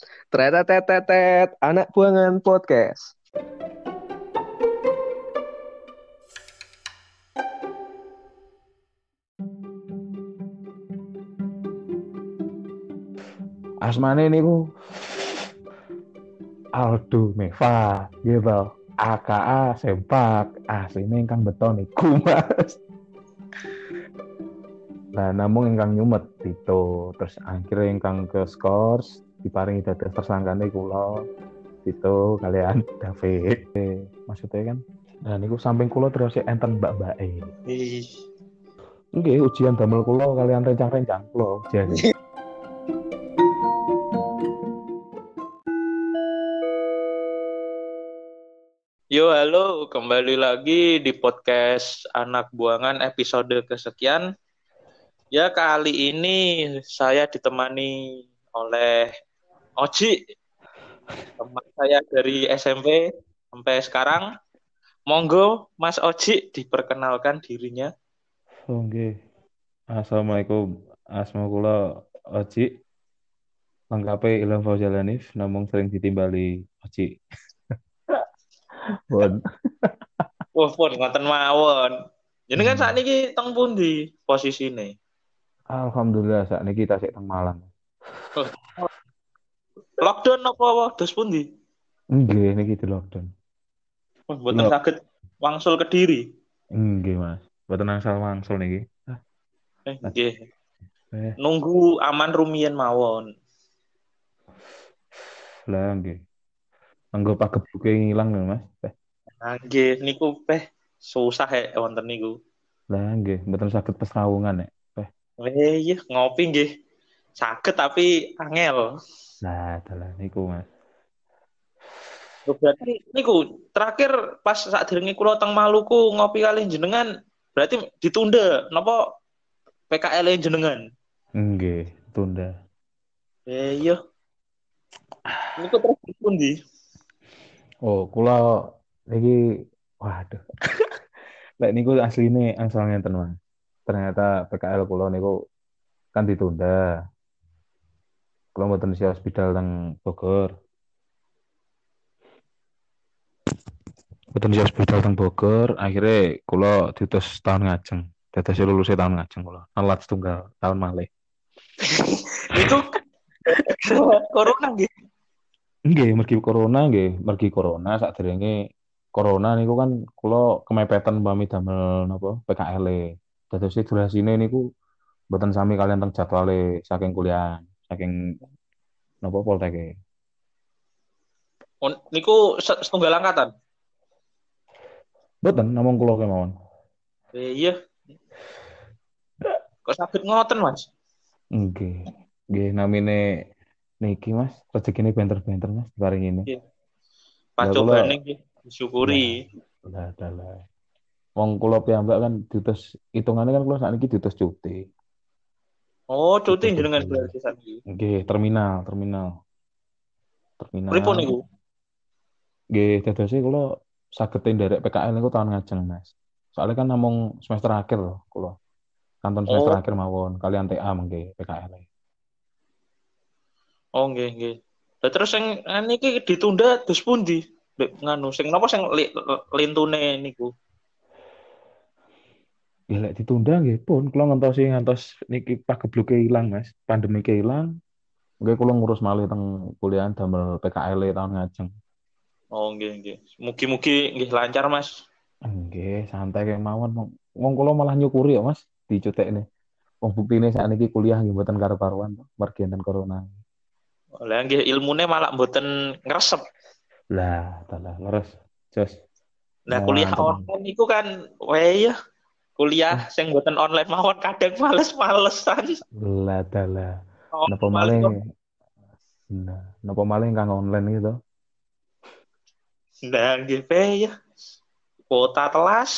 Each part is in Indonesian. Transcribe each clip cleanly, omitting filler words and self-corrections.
Tretetetetet, anak buangan podcast. Asmane niku Aldo Meva, gitu. AKA Sempak, asline ingkang beton niku, Mas. Nah, namun ingkang nyumet itu, terus akhirnya ingkang ke skors diparingi dados tersangkane kula itu kalian David. Maksudnya kan, nah niku samping kula terus enten mbak-mbake. Ih, Nggih, ujian damel kula kalian rencang-rencang kula ujian. Yo, halo, kembali lagi di podcast Anak Buangan episode kesekian. Ya, kali ini saya ditemani oleh Oji, teman saya dari SMP sampai sekarang. Monggo, Mas Oji, diperkenalkan dirinya. Oh, nggih. Assalamualaikum. Asma kula Oci, lengkape Ilham Fauzal Hanif, namung sering ditimbali Oci. Bon. Wah, pun ngoten mawon. Jenengan saat Hmm. ini teng pundi posisine? Alhamdulillah saat ini kita teng Malang. Oh, lockdown apa dos pundi? Nggih, niki di lockdown. Mboten Kula saged wangsul Kediri. nggih, Mas. Mboten angsal wangsul niki. Ah, Nggih. eh, Nunggu aman rumiyin mawon. lah nggih. Anggo pagebuke ngilang lho, Mas. Nah, nggih niku susah wonten niku. Lah nggih, mboten saged pesrawungan nek. Iya ngopi nggih. Saged tapi angel. Lah, dalah niku, Mas. Loh, berarti niku terakhir pas sakderenge kula teng Maluku ngopi kalih jenengan berarti ditunda napa PKL jenengan? Nggih, tunda. Iya. Niku terus pundi? Oh, kula niki waduh. Lek niku asline angsal ngenten, Mas. Ternyata PKL kula niku kan ditunda. Kula mboten isi hospital teng Bogor. Mboten isi hospital teng Bogor, akhirnya kula diutus tahun ngajeng. Dados lulusnya tahun ngajeng kula. Nelat setunggal tahun malih. Niku corona nggih. Nggih, mergi corona sakderenge corona niku kan kula kemepetan pamit damel napa PKL. Dados durasine niku mboten sami kalian teng jadwale saking kuliah, saking napa Poltek. Niku setunggal angkatan. Mboten namung kula kemawon. Iya, kok sakit ngoten, Mas? Nggih. Nggih namine niki Mas, rezekine benter-benter Mas bareng ini. Iya. Lah kula Pacobane nggih disyukuri. lah lah. Wong kula piyambak kan diutus hitungane kan kula sakniki diutus cuti. Oh, cuti Diutus jenengan cuti. berarti sakniki. Nggih, terminal. Pripun Terminal. niku? Nggih, dadose kula saged nderek PKL niku tahun ngajeng Mas. Soalnya kan namung semester akhir loh kula. Kanton semester Oh, akhir mawon kalian TA mengke PKL. oh nggih nggih. Lah terus sing niki ditunda terus pundi? Nganu sing napa sing lintune niku? Ya lek ditunda nggih pun kula ngantos niki pagebluke ilang Mas. Pandemike ilang, nggih kula ngurus malih teng kuliahan damel PKL tahun ngajeng. Oh nggih nggih. Mugi-mugi nggih lancar, Mas. Nggih, santai kayak mawon. Wong kula malah nyukuri ya Mas dicutekne. Wong buktine sakniki kuliah nggih mboten karo-karuan mergi enten corona. Lah nggih ilmune malah mboten ngresep. Lah, dalah leres. Jos Nah, kuliah mantep. online niku kan ya kuliah Eh, sing mboten online mawon kadang males-malesan. lah dalah. Oh, Napa males malih kok. napa malih kang online gitu. Nah, nggih ya. Kuota telas.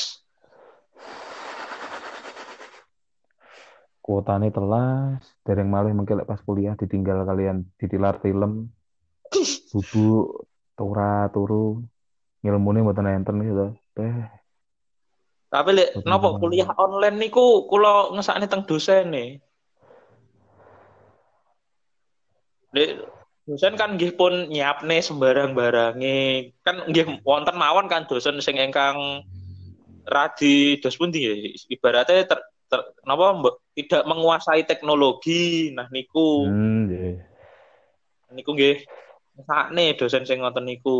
Kuotane telas, dereng malih mengke lek pas kuliah ditinggal kalian ditilar film, bubuk, turu, ngilmune mboten enten gitu. Teh, Tapi lek mboten napa kuliah semangat. online niku kula ngesakne teng dosene. Lek dosen kan nggih pun nyiapne sembarang-barange. Kan nggih wonten mawon kan dosen sing ingkang radi dos pundi ya, ibaratnya napa tidak menguasai teknologi. Nah niku Nggih. niku nggih sakne dosen sing ngoten niku.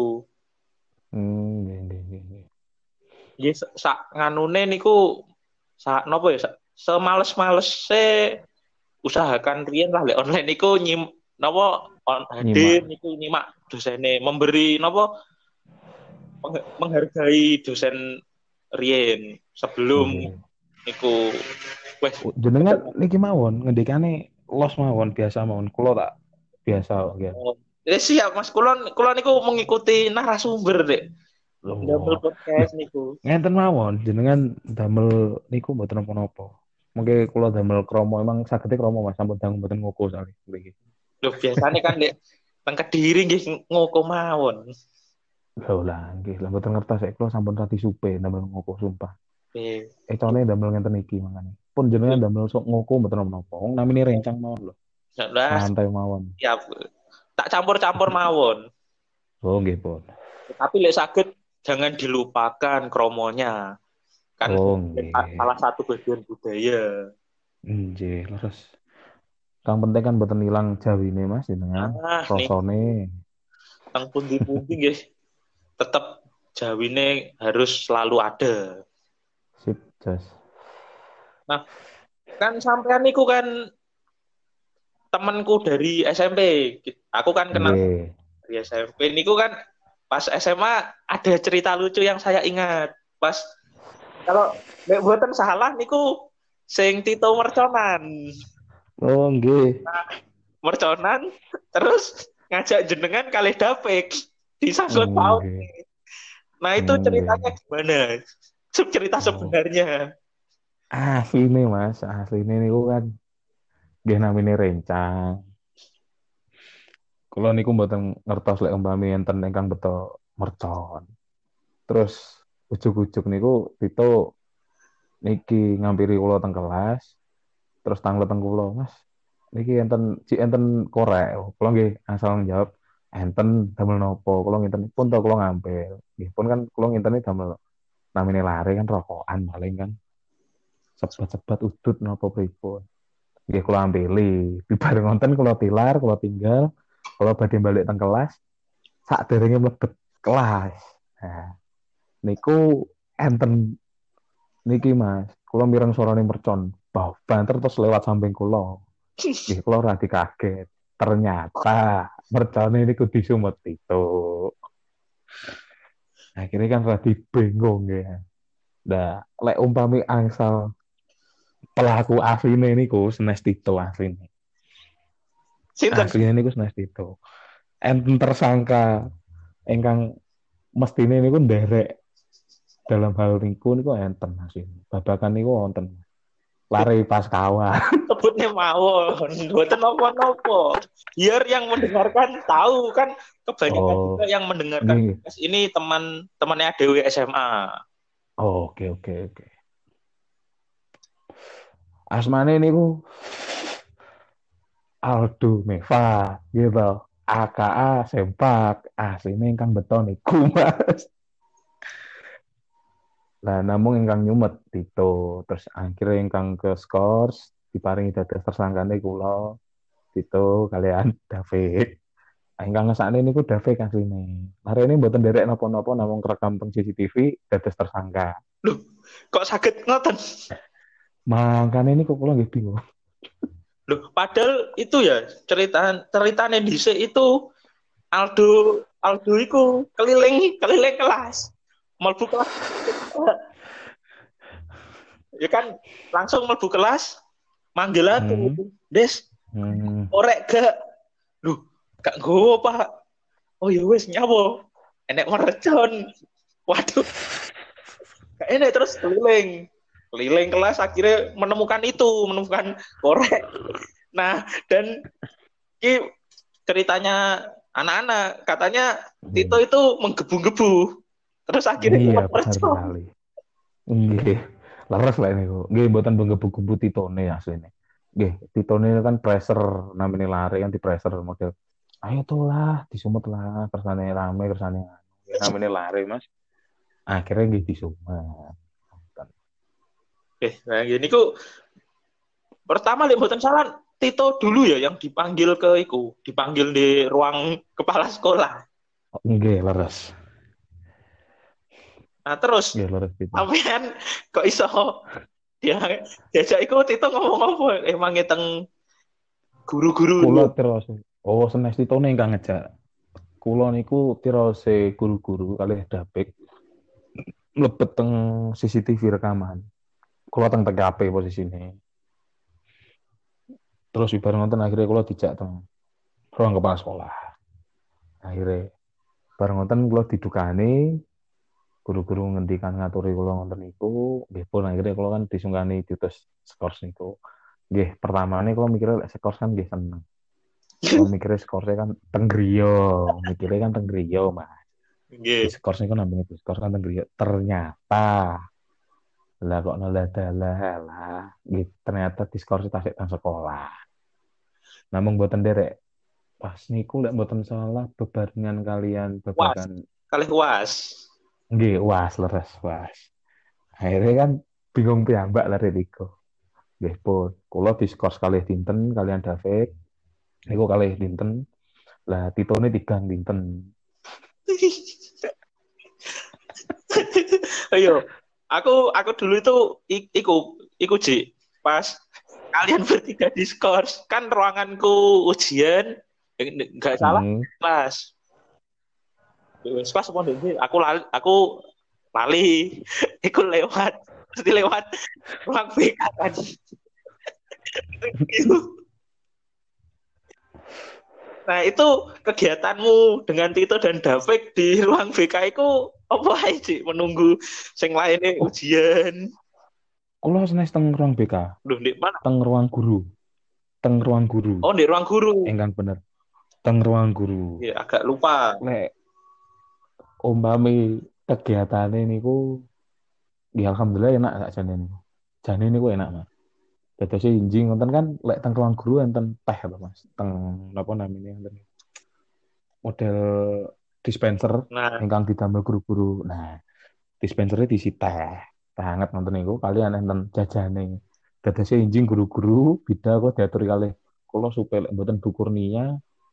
Nggih, nggih, nggih, nggih. Nggih sak nganune niku sak napa ya semales-males usahakan riyen lah lek online niku napa hadir Nyimak. niku nyimak dosene memberi napa menghargai dosen riyen sebelum Nggih. niku wes Jenengan niki mawon ngendikane los mawon biasa mawon. Kula tak biasa kok nggih. siap Mas kulon niku mengikuti narasumber dek ndamel Loh. Loh, podcast niku. ngenten mawon jenengan damel niku mboten napa-napa. Mengke kula damel kromo emang sagede kromo Mas sampun dangu mboten ngoko sakit mriki. Loh biasanya kan dek teng Kediri nggih ngoko mawon. Ya lah nggih, lah mboten ngertos kula sampun rati supe damel ngoko sumpah. Eh, Cone damel ngenten iki mangane. Pun jenengan damel sok ngoko mboten napa-napa. Wong namine rencang mawon lho. lah Santai mawon. siap tak campur-campur mawon. Oh nggih, Pun. Tapi lek saged jangan dilupakan kromonya. Kan Oh nggih. salah satu bagian budaya. Nggih, leres. Kang penting kan mboten ilang jawine Mas jenengan. Ah, nih Rasane teng pundi-pundi nggih tetap jawine harus selalu ada. sip jas. Nah, kan sampean niku kan temanku dari SMP. Aku kan kenal Nggih. dari SMP niku kan pas SMA ada cerita lucu yang saya ingat. Pas kalau nek mboten salah niku sing Tito Merconan. Oh nggih. Merconan terus ngajak jenengan kalih dapek di sangkut paut. Nggih. Nah, itu ceritanya Nggih. gimana? Cerita Oh. sebenarnya. Asline Mas, asline niku kan nggih namine rencang. Kula niku mboten ngertos lek umpami enten ingkang beto mercon. Terus ujug-ujug niku Tito niki ngampiri kula teng kelas, terus tanglet teng kula, Mas. Niki enten cik enten korek. Kula nggih asal njawab enten damel nopo. Kula ngenten pun to kula ngampil. Nggih pun kan kula ngenteni damel namine lare kan rokokan paling kan. Sebat-sebat udut napa pripun. Nggih kula ampili. Bareng ngonten kula tilar, kula tinggal, kula badhe balik teng kelas, sakderenge mlebet kelas. Nah, niku enten niki Mas, kula mireng suarane mercon. Bau banter terus lewat samping kula. Nggih kula radi kaget. Ternyata mercone niku disumut itu. Akhirnya kan radi bingung ya. Nah, lek umpami angsal pelaku asline niku senes Tito asline. Sinten? Asline niku senes Tito. Enten tersangka ingkang mestine niku nderek dalam hal niku enten asline. Babakan niku wonten. Lari pas kawan. Sebutnya mawon. Mboten napa-napa. Biar yang mendengarkan tahu kan kebanyakan juga Oh, yang mendengarkan nggih. podcast ini teman-temannya Dewi SMA. Oh, oke oke oke. Asmane niku Aldo Meva gitu. AKA Sempak asline ingkang beto niku Mas. Lah namung ingkang nyumet Tito, terus akhirnya ingkang ke skors diparingi dados tersangkane kula Tito kalian David. Ingkang ngesakne niku David asline. Hari ini mboten nderek napa-napa namung kerekam teng CCTV dados tersangka. Loh, kok sakit ngoten? Makane niku kula nggih bingung. Loh, padahal itu ya ceritanya dhisik itu Aldo Aldo iku keliling keliling kelas. Mlebu kelas. Ya kan langsung mlebu kelas manggil aku. Hmm. Des, Hmm. korek gak? Loh, gak nggowo, Pak. Oh ya wis nyawo. Enek mercon. Waduh, gak enek terus keliling. Keliling kelas akhirnya menemukan korek. Nah, dan ini ceritanya anak-anak katanya Tito Hmm. itu menggebu-gebu. Terus akhirnya Iya, kena benar mercon. sekali. Nggih. Leres lah niku. Nggih mboten menggebu-gebu Titone asline. Nggih, Titone kan pressure namine lari kan di pressure model ayo tuh lah disumet lah kersane rame kersane anu. Ya, namanya lari Mas. Akhirnya nggih disumet. Nah gini ku pertama lihat mboten salah Tito dulu ya yang dipanggil ke iku, dipanggil di ruang kepala sekolah. Oh, nggih leres. Nah terus Nggih leres itu. sampean kok iso dia diajak iku Tito ngomong apa? Emang teng guru-guru Kula itu. terus oh senes titone ingkang ngejak. Kula niku tirose guru-guru kalih dapik mlebet teng CCTV rekaman. Kula teng TKP posisine. Terus bareng nonton akhirnya kula dijak teng ruang kepala sekolah. Akhirnya bareng nonton kula didukani guru-guru ngendikan ngaturi kula ngonten niku, nggih pun akhirnya kula kan disungkani diutus skors niku. Nggih, pertamane kula mikirnya lek skors kan nggih seneng. Kula mikirnya skorsnya kan teng griya, mikirnya kan teng griya, Mas. Di Nggih. skors niku namanya di skors kan teng griya. Ternyata lah kok nolak dalah lah. Nggih, ternyata di skors tasik teng sekolah. Namun mboten derek pas niku lek mboten salah bebarengan kalian Was, babagan kalih was. nggih was leres was. Akhirnya kan bingung piyambak lah Riko. Nggih pun, kula diskors kalih dinten kalian David, niku kalih dinten. Lah titone tigang dinten. Ayo, aku dulu itu iku Ji. Pas kalian bertiga diskors, kan ruanganku ujian, nggak salah Hmm. kelas. Wes pas apa ndek aku lali, iku lewat, mesti lewat ruang BK kan. Nah, itu kegiatanmu dengan Tito dan Davik di ruang BK itu apa aja menunggu sing lainnya Oh, ujian. kula senes teng ruang BK, Duh, di mana? teng ruang guru, teng ruang guru. Oh, di ruang guru. Engkang bener, teng ruang guru. Ya, agak lupa. Lek umpami kegiatane niku, ya alhamdulillah enak sakjane niku. Jane niku enak, Mas. Dados injing wonten kan lek teng ruang guru enten teh lho, Mas. Teng napa namanya enten model dispenser Nah, ingkang didamel guru-guru. Nah, dispensernya diisi teh. Teh hangat nonton niku kalian enten jajane. Dadosé injing guru-guru bida kok diatur kalih kula supaya lek mboten Bu Kurnia,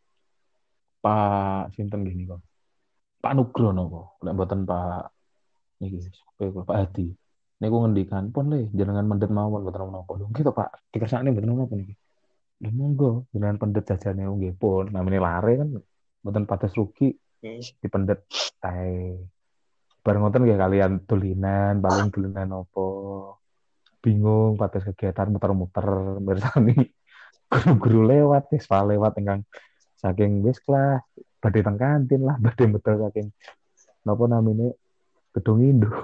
Pak sinten gini kok. Pak Nugrono kok. Lek mboten Pak niki supaya kula Pak Hadi. Niku ngendikan pun le jenengan mendet mawon mboten menapa. Lho nggih to Pak, dikersakne mboten menapa niki. Lho monggo jenengan pendet jajane nggih pun namine lare kan mboten pates rugi dipendet teh. Bareng ngoten nggih kalian tulinan, paling tulinan opo. Bingung pates kegiatan muter-muter mirsani guru-guru lewat wis lewat ingkang saking wis kelas badhe teng kantin lah badhe betul saking napa namine gedung induk.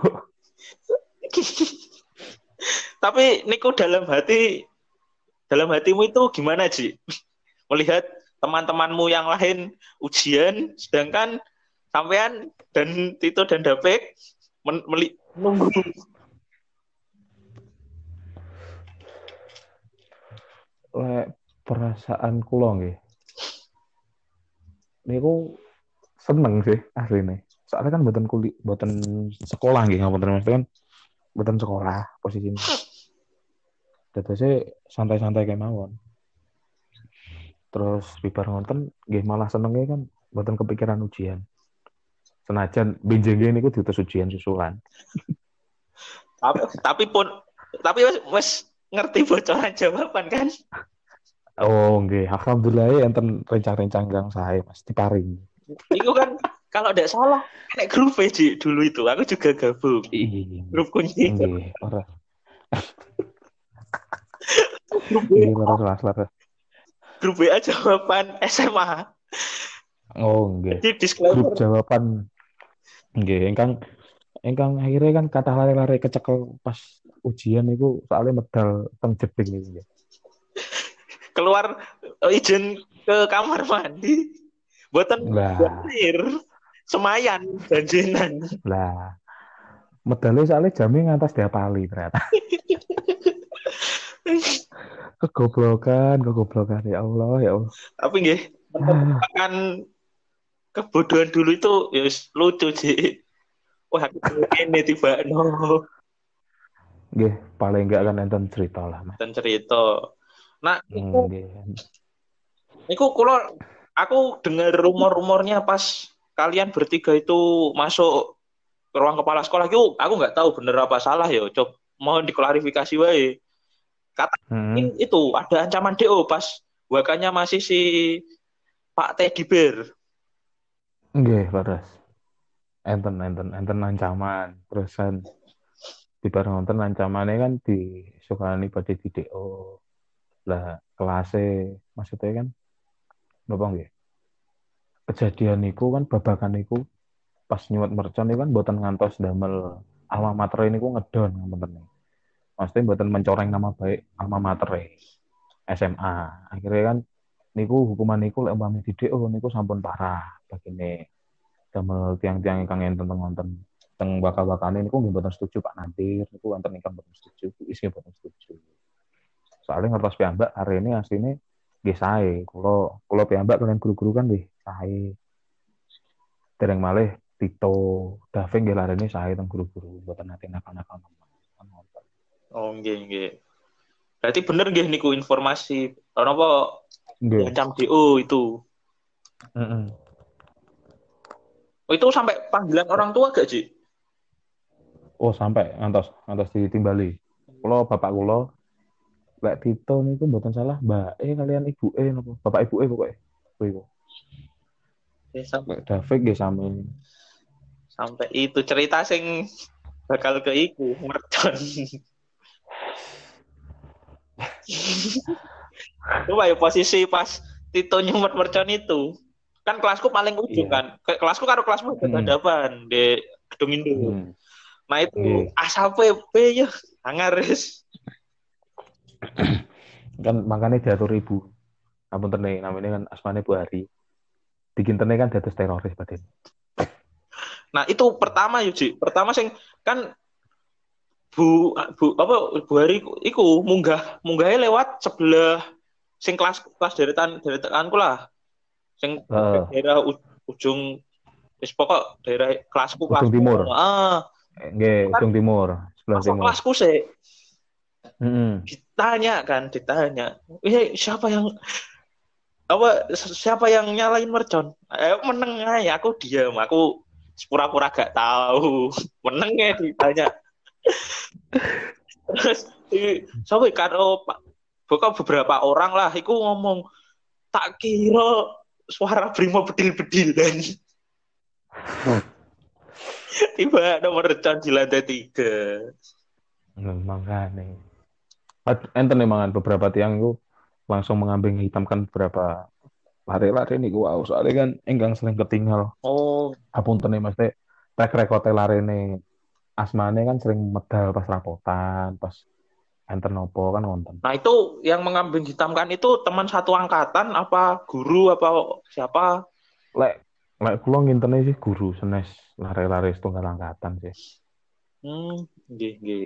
tapi niku dalam hatimu itu gimana, Ji? Melihat teman-temanmu yang lain ujian, sedangkan sampean dan Tito dan Davik menunggu. Lek perasaan kula nggih niku seneng sih asline. Soalnya kan mboten mboten sekolah nggih ngapunten Mas kan mboten sekolah posisine. Dadose santai-santai kemawon. Terus bibar ngonten nggih malah senenge kan mboten kepikiran ujian. Senajan benjenge niku diutus ujian susulan. Tapi wes ngerti bocoran jawaban kan? Oh nggih, alhamdulillah ya enten rencang-rencang kang sae Mas diparing. Itu kan kalau tidak salah nek grup Ji dulu itu aku juga gabung Iya, grup kunci nggih, ora. grup Nggih, WA laras. grup WA jawaban SMA. Oh nggih. Jadi Grup disclaimer. jawaban nggih ingkang ingkang akhirnya kan kata lare-lare kecekel pas ujian niku soalnya medal teng jeding niku nggih. Keluar izin ke kamar mandi buatan buat Lah, air semayan janjinan. lah medalnya soalnya jamnya ngantos diapali ternyata. Kegoblokan ya Allah ya Allah. Tapi nggih menemukan kebodohan dulu itu ya lucu sih. Wah, aku ini tiba no Nggih, paling enggak kan enten cerita lah, Mas. dan cerita. Nah, Nggih. kalau aku dengar rumor-rumornya pas kalian bertiga itu masuk ke ruang kepala sekolah itu, aku nggak tahu bener apa salah ya. Coba mohon diklarifikasi wae. Kata Heeh. itu ada ancaman DO pas wakanya masih si Pak Teddy Bear. Nggih, leres. Enten ancaman. Terus kan di bareng wonten ancamane kan disukani badhe di DO. Lah kelasé maksudnya kan napa nggih? Kejadian niku kan babakan niku pas nyuwat mercon niku kan mboten ngantos damel alma mater niku ngedon ngoten. Maksudnya mboten mencoreng nama baik alma mater SMA. Akhirnya kan niku hukuman niku lek umpami di DO niku sampun parah bagine damel tiang-tiang ingkang enten wonten teng bakal-bakane niku nggih mboten setuju Pak Nadir niku wonten ingkang mboten setuju, Bu Is nggih mboten setuju. Soalnya ngertos piyambak hari ini asline nggih sae. Kula piyambak kalian guru-guru kan nggih sae. Dereng malih Tito, Daving nggih larene sae teng guru-guru mboten nate nakal-nakal nemen. Oh, nggih nggih. Berarti bener nggih niku informasi apa Nggih. diancam DO itu. Heeh. Oh, itu sampai panggilan orang tua gak, Ji? Oh, sampai ngantos ngantos ditimbali. Bapak kula lek Tito niku mboten salah Mbak kalian Ibu napa Bapak Ibu pokoke. Kuwi. Ya, Lek Daving nggih sami. sampai itu cerita sing bakal ke iku mercon. Coba ya posisi pas Tito nyumet mercon itu. Kan kelasku paling ujung Iya. kan. Kelasku karo kelasmu Heeh. hadapan di gedung Indo. Hmm. Nah itu Nggih. asape ya hangaris. Kan makanya diatur Ibu. Ampun tene namanya kan asmane Bu Hari. Bikin tene kan dados teroris badan. Nah itu pertama Yuji. Pertama sing kan Bu Bu Hari iku munggahnya lewat sebelah sing kelas deretanku lah. Sing Heeh. daerah ujung wis pokok daerah Ujung kelasmu. timur. Itu Nggih, kan ujung timur, sebelah masuk timur. kelasku sih Heeh. ditanya. Siapa yang siapa yang nyalain mercon? Meneng aja, aku diam, aku pura-pura gak tahu. Meneng ya ditanya. Terus sampai karo pokok beberapa orang lah, iku ngomong tak kira suara Brimo bedil-bedilan. Tiba nomor mercon di lantai 3. Makanya. Enten mangan beberapa tiang itu langsung mengambing hitamkan beberapa lari-lari nih gua soalnya kan enggang sering ketinggal Oh, apunten nih mesti track record lari nih asmane kan sering medal pas rapotan pas enten nopo kan wonten nah itu yang mengambing hitamkan itu teman satu angkatan apa guru apa siapa? lek lek kula ngintene sih guru senes lari-lari setunggal angkatan sih Nggih, nggih.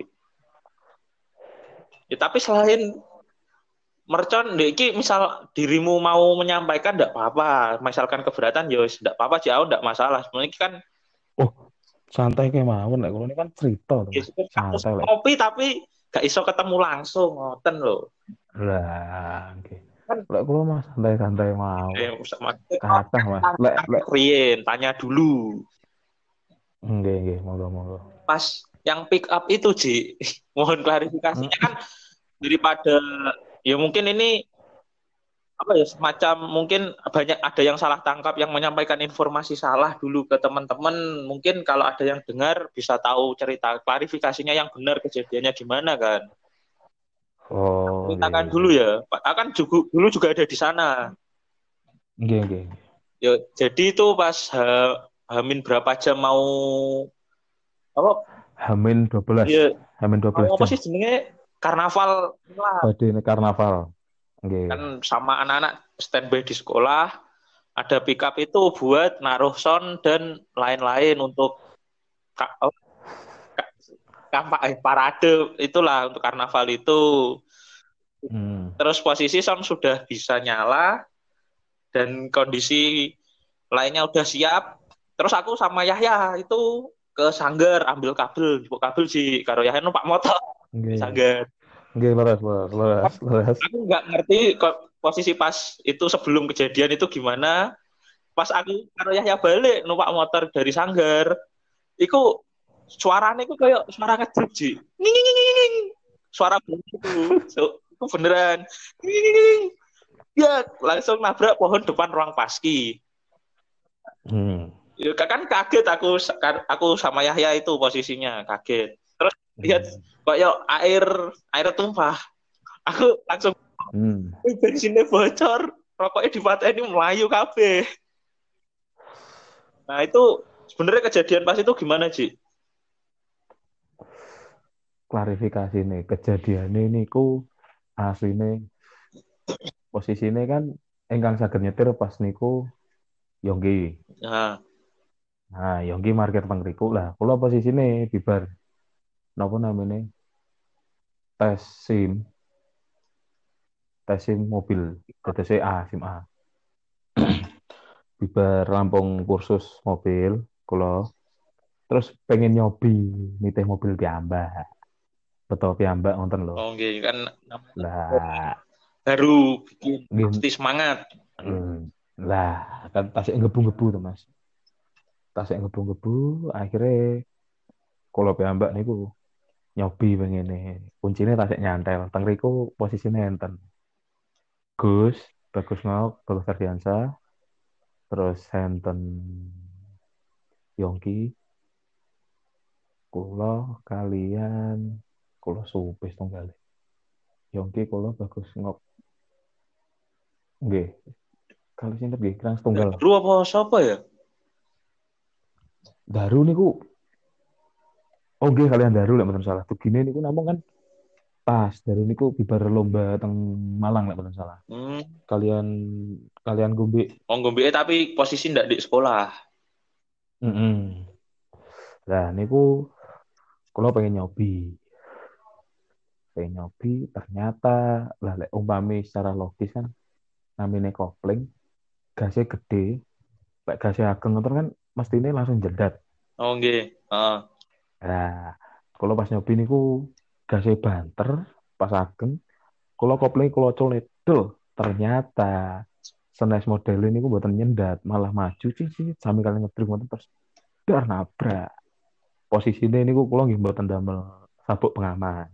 Ya, tapi selain mercon, dek iki misal dirimu mau menyampaikan ndak apa-apa, misalkan keberatan ya wis ndak apa-apa sih, aku ndak masalah. Sebenarnya iki kan oh santai kayak mawon lek kula ini kan cerita tuh ya mas sekedar kasus santai lek ngopi tapi gak iso ketemu langsung ngoten loh. lah oke Kan lek kula mas santai-santai mawon maksudnya kathah mas lek lek Rien, tanya dulu. nggih monggo Pas yang pick up itu, Ji, mohon klarifikasinya kan daripada ya mungkin ini apa ya semacam mungkin banyak ada yang salah tangkap yang menyampaikan informasi salah dulu ke teman-teman mungkin kalau ada yang dengar bisa tahu cerita klarifikasinya yang benar kejadiannya gimana kan oh ceritakan dulu ya Pak akan juga dulu juga ada di sana nggih ya jadi itu pas Hamin berapa jam mau apa Hamin 12 ya Hamin mau 12 apa jam sih sebenarnya karnaval lah badhe ini karnaval kan nggih sama anak-anak standby di sekolah ada pick up itu buat naruh sound dan lain-lain untuk kampanye parade itulah untuk karnaval itu. hmm. Terus posisi sound sudah bisa nyala, dan kondisi lainnya udah siap. Terus aku sama Yahya itu ke Sanggar ambil kabel, jupuk kabel sih. Karo Yahya numpak motor di Nggih. Sanggar. Nggih leres, leres, leres, leres. Aku nggak ngerti kok posisi pas itu sebelum kejadian itu gimana. Pas aku karo Yahya balik numpak motor dari Sanggar, itu suaranya itu kayak suara ngejeep Ji. Nging, nging, nging, nging. Suara bunyi itu beneran. Nging, nging, nging. Ya langsung nabrak pohon depan ruang paski. Hmm. Ya, kan kaget aku sama Yahya itu posisinya kaget. Terus lihat Hmm. kayak air air tumpah. Aku langsung Hmm. bensinnya bocor, rokoknya dipatahin melayu kabeh. Nah, itu sebenarnya kejadian pas itu gimana, Ji? Klarifikasi nih, kejadian ini ku asline posisine kan ingkang saged nyetir pas niku Yonggi. Nah, Nah, Yonggi parkir teng mriku lah. Kula posisine bibar napa namanya? Tes SIM, tes SIM mobil. Dados SIM A. Bibar rampung kursus mobil kula terus pengen nyobi nitih mobil piyambak. Betul piyambak wonten lho. oke kan namanya Lah, baru bikin nggih pasti semangat. lah kan tasik ngebu-ngebu tuh Mas. Tasik ngebu-ngebu akhirnya kula piyambak niku nyobi pengene. Kuncine tasik nyantel. Teng riku posisine enten. Gus, Bagus mau, Bagus Ardiansa, terus enten Yongki, kula kalian kula supis tunggal. Yongki kula Bagus ngok nggih. Kalau sinten nggih kirang setunggal. Baru apa siapa ya? Daru niku oh nggih kalian Daru lek mboten salah. Tugine niku namung kan pas Daru niku bibar lomba teng Malang lek mboten salah. Hmm, Kalian kalian Gombe. oh ngombe tapi posisi ndak di sekolah. Mm. Lah niku kula pengen nyobi. Pengen nyobi ternyata lah lek umpami secara logis kan namine kopling gasnya gede, lek gasnya ageng ngoten kan mestine langsung jedat. Oh nggih. Heeh. Nah, kalau pas nyobi niku gasnya banter pas ageng, kalau kopling kalau colek ternyata senes model ini gue buatan nyendat malah maju sih sambil kalian ngedruk ngoten terus dar nabrak posisinya ini gue kalau nggih buatan damel sabuk pengaman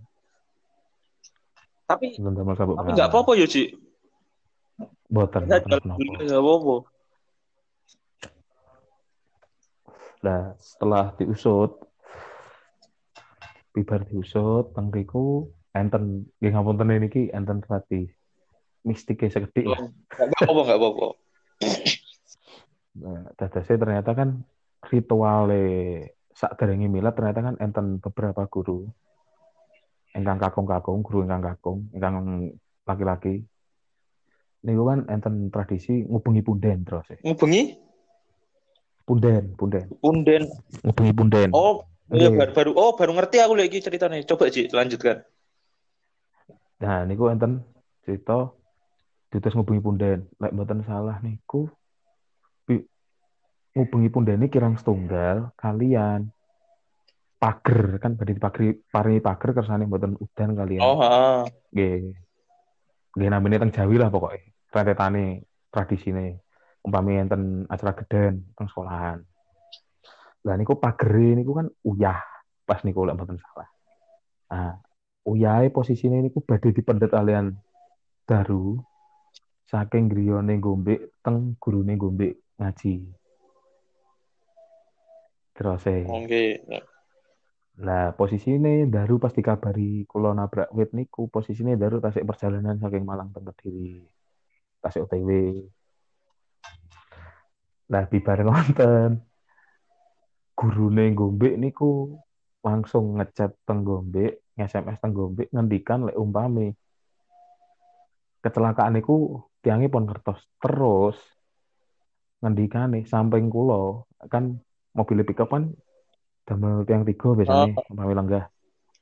Tapi buatan damel sabuk tapi nggak pengaman apa-apa ya, Ji. buatan Ya, buatan apa nggak apa-apa. nah setelah diusut bibar diusut tengriku enten nggih ngapunten niki enten rati mistiknya sekedik lah. Nggak apa-apa, nggak apa-apa. Nah, dadasnya ternyata kan rituale sak derenge milad ternyata kan enten beberapa guru ingkang kakung-kakung, guru ingkang kakung, ingkang laki-laki. Niku kan enten tradisi ngubengi punden terus ya. Ngubengi Punden, punden. punden. Ngubengi punden. Oh, ya Nggih. baru ngerti aku lagi ceritanya. Coba, Ji, lanjutkan. Nah, niku enten cerita diutus ngubengi punden. Lek mboten salah niku ngubengi punden ini kirang setunggal kalian pager kan badhe dipagri paringi pager kersane mboten udan kalian. Oh, heeh. Nggih. Nggih namine teng Jawi lah pokoknya. Rentetane tradisine. Umpami enten acara geden teng sekolahan. Lah niku pagere niku kan uyah pas niku lek mboten salah. Nah, uyahe posisine niku badhe dipendhet alian daru saking griyane Gombe teng gurune Gombe ngaji. Terus Oke. lah posisine daru pas dikabari kula nabrak wit niku posisine daru tasik perjalanan saking Malang teng Kediri. Tasik OTW. Lah bibar ngonten gurune Gombe niku langsung ngechat teng Gombe, nge-SMS teng Gombe ngendikan lek umpami kecelakaan niku tiange pun ngertos. Terus ngendikane samping kula kan mobil pickup kan damel tiang tiga biasanya Oh, umpami lenggah.